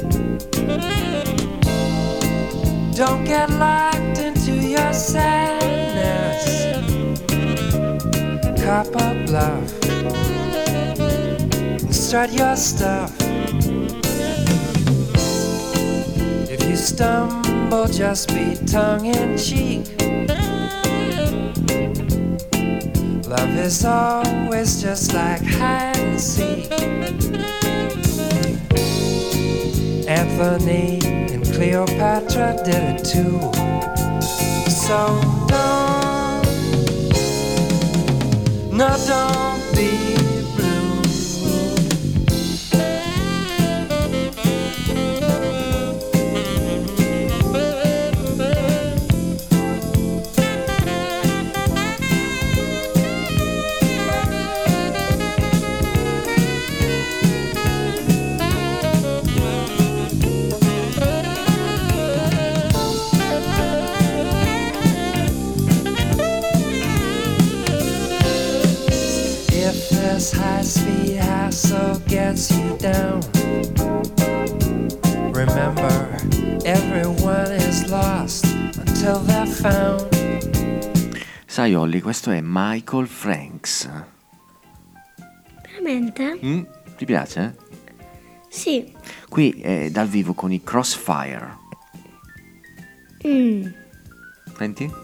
Don't get locked into your sadness. Cop a bluff and strut your stuff. If you stumble, just be tongue-in-cheek. Love is always just like hide and seek. Anthony and Cleopatra did it too. So don't be blue. This high-speed hassle gets you down. Remember, everyone is lost until they're found. Sai Olli, questo è Michael Franks. Veramente? Ti piace? Sì. Qui è dal vivo con i Crossfire. Senti?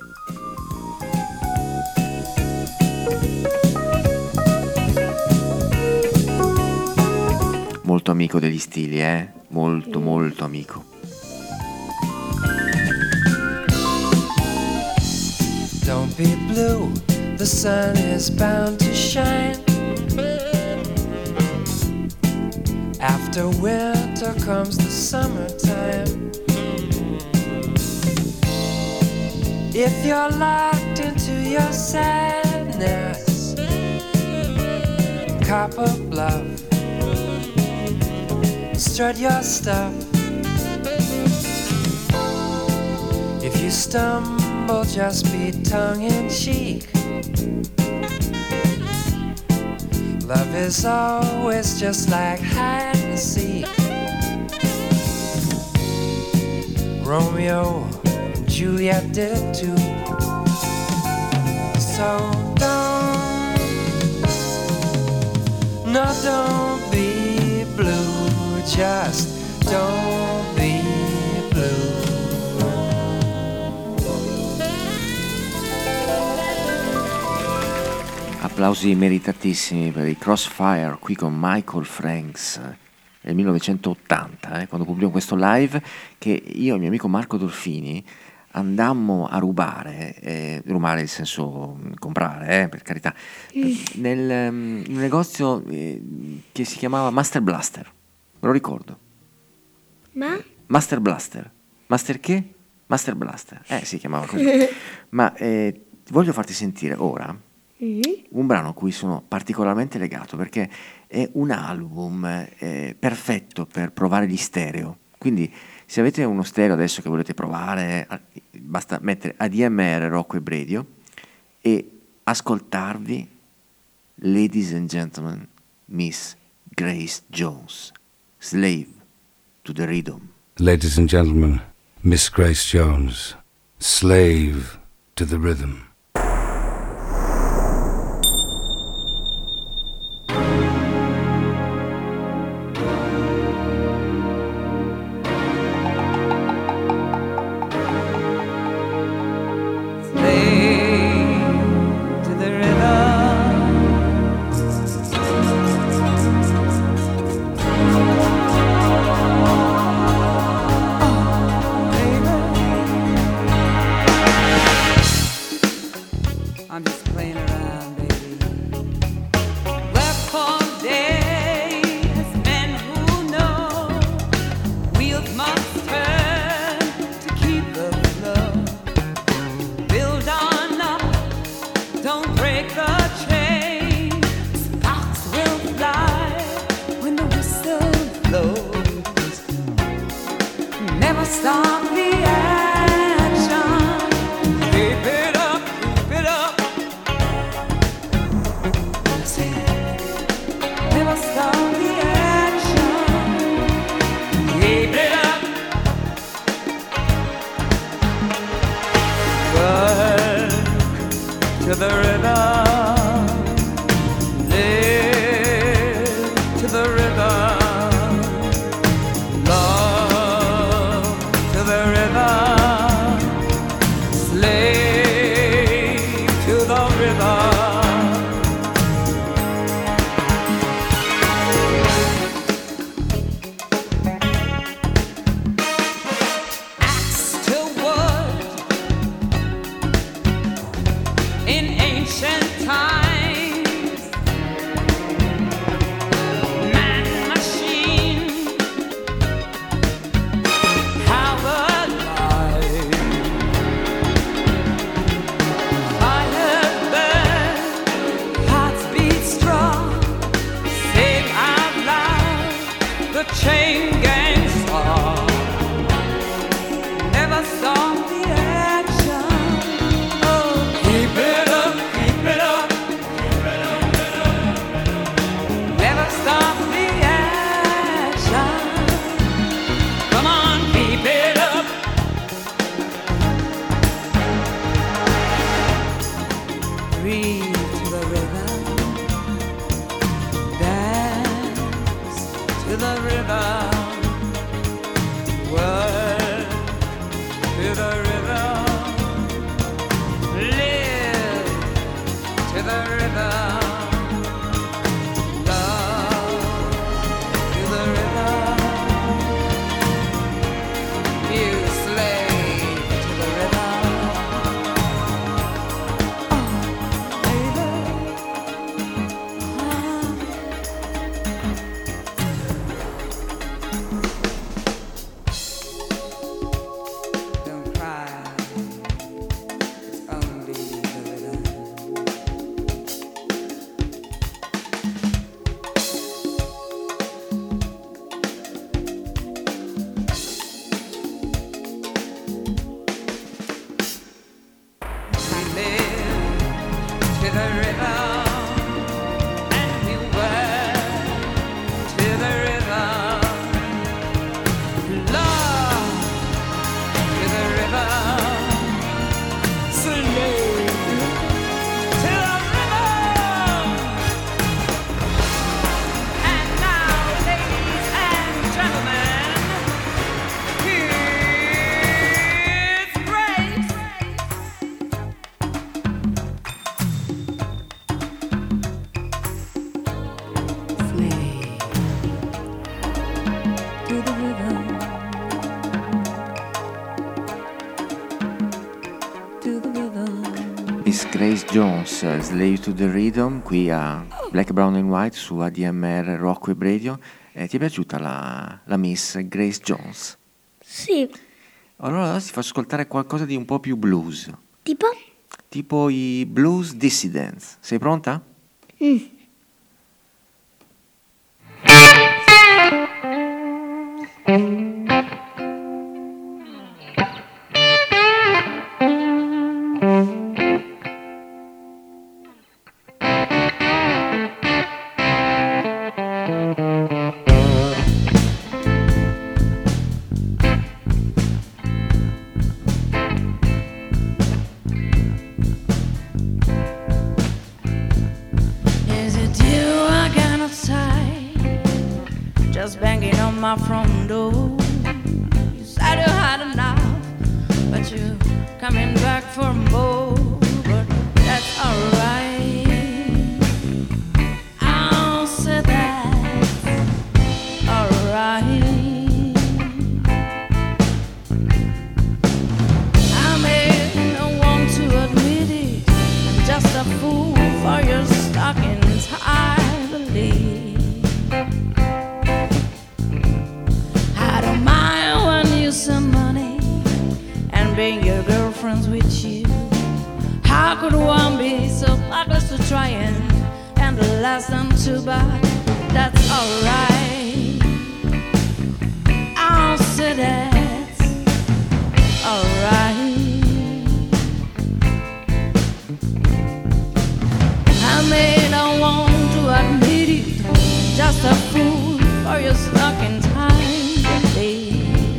Molto amico degli stili, molto molto amico. Don't be blue, the sun is bound to shine. After winter comes the summertime. If you're locked into your sadness, cop a bluff, strut your stuff. If you stumble, just be tongue-in-cheek. Love is always just like hide and seek. Romeo and Juliet did it too. So don't be blue, just don't be blue. Applausi meritatissimi per i Crossfire qui con Michael Franks nel 1980, quando pubblicò questo live che io e il mio amico Marco Dolfini andammo a rubare nel senso comprare, per carità, nel un negozio che si chiamava Master Blaster, me lo ricordo. Ma? Master Blaster. Master che? Master Blaster. Si chiamava così. Ma voglio farti sentire ora un brano a cui sono particolarmente legato, perché è un album perfetto per provare gli stereo. Quindi se avete uno stereo adesso che volete provare, basta mettere ADMR, Rocco e Bredio e ascoltarvi Ladies and Gentlemen, Miss Grace Jones, Slave to the Rhythm. Ladies and gentlemen, Miss Grace Jones, Slave to the Rhythm. Don't cry. Miss Grace Jones, Slave to the Rhythm, qui a Black, Brown and White su ADMR Rock Web Radio. Ti è piaciuta la Miss Grace Jones? Sì. Allora ti faccio ascoltare qualcosa di un po' più blues. Tipo? Tipo i Blues Dissidents. Sei pronta? Just banging on my front door. You said you had enough, but you're coming back for more. But that's alright. I'll say that's alright. I may not want to admit it, I'm just a fool for your stockings, I believe. Some money and bring your girlfriends with you. How could one be so reckless to try and the last them too bad? That's alright. I'll say that's alright. I may not want to admit it, just a fool for your stuck in time, baby.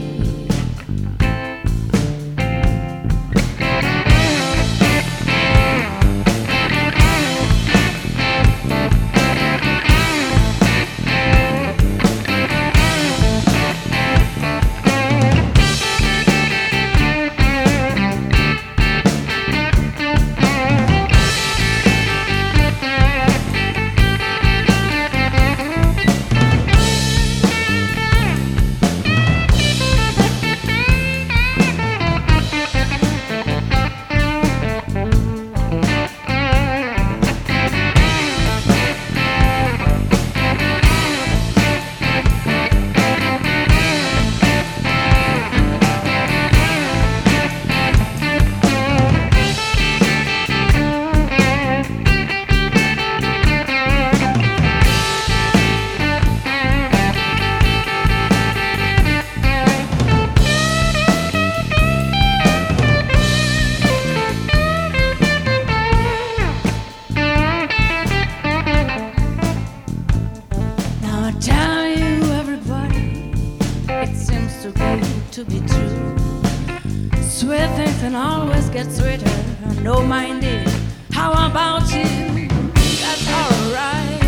To be true, sweet things and always get sweeter. No mind it. How about you? That's alright.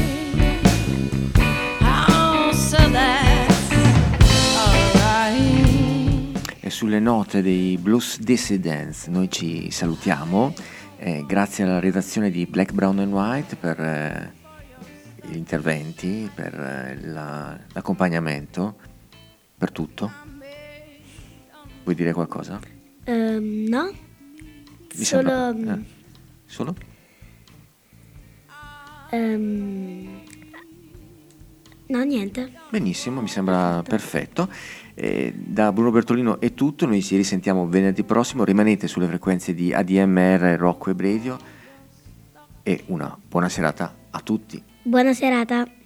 How so that's alright. E sulle note dei Blues Dissidents noi ci salutiamo. Grazie alla redazione di Black, Brown and White per gli interventi, per l'accompagnamento, per tutto. Vuoi dire qualcosa? No. Mi Solo... sembra... Solo? No, niente. Benissimo, mi sembra perfetto. Da Bruno Bertolino è tutto, noi ci risentiamo venerdì prossimo, rimanete sulle frequenze di ADMR Rock Web Radio e una buona serata a tutti. Buona serata.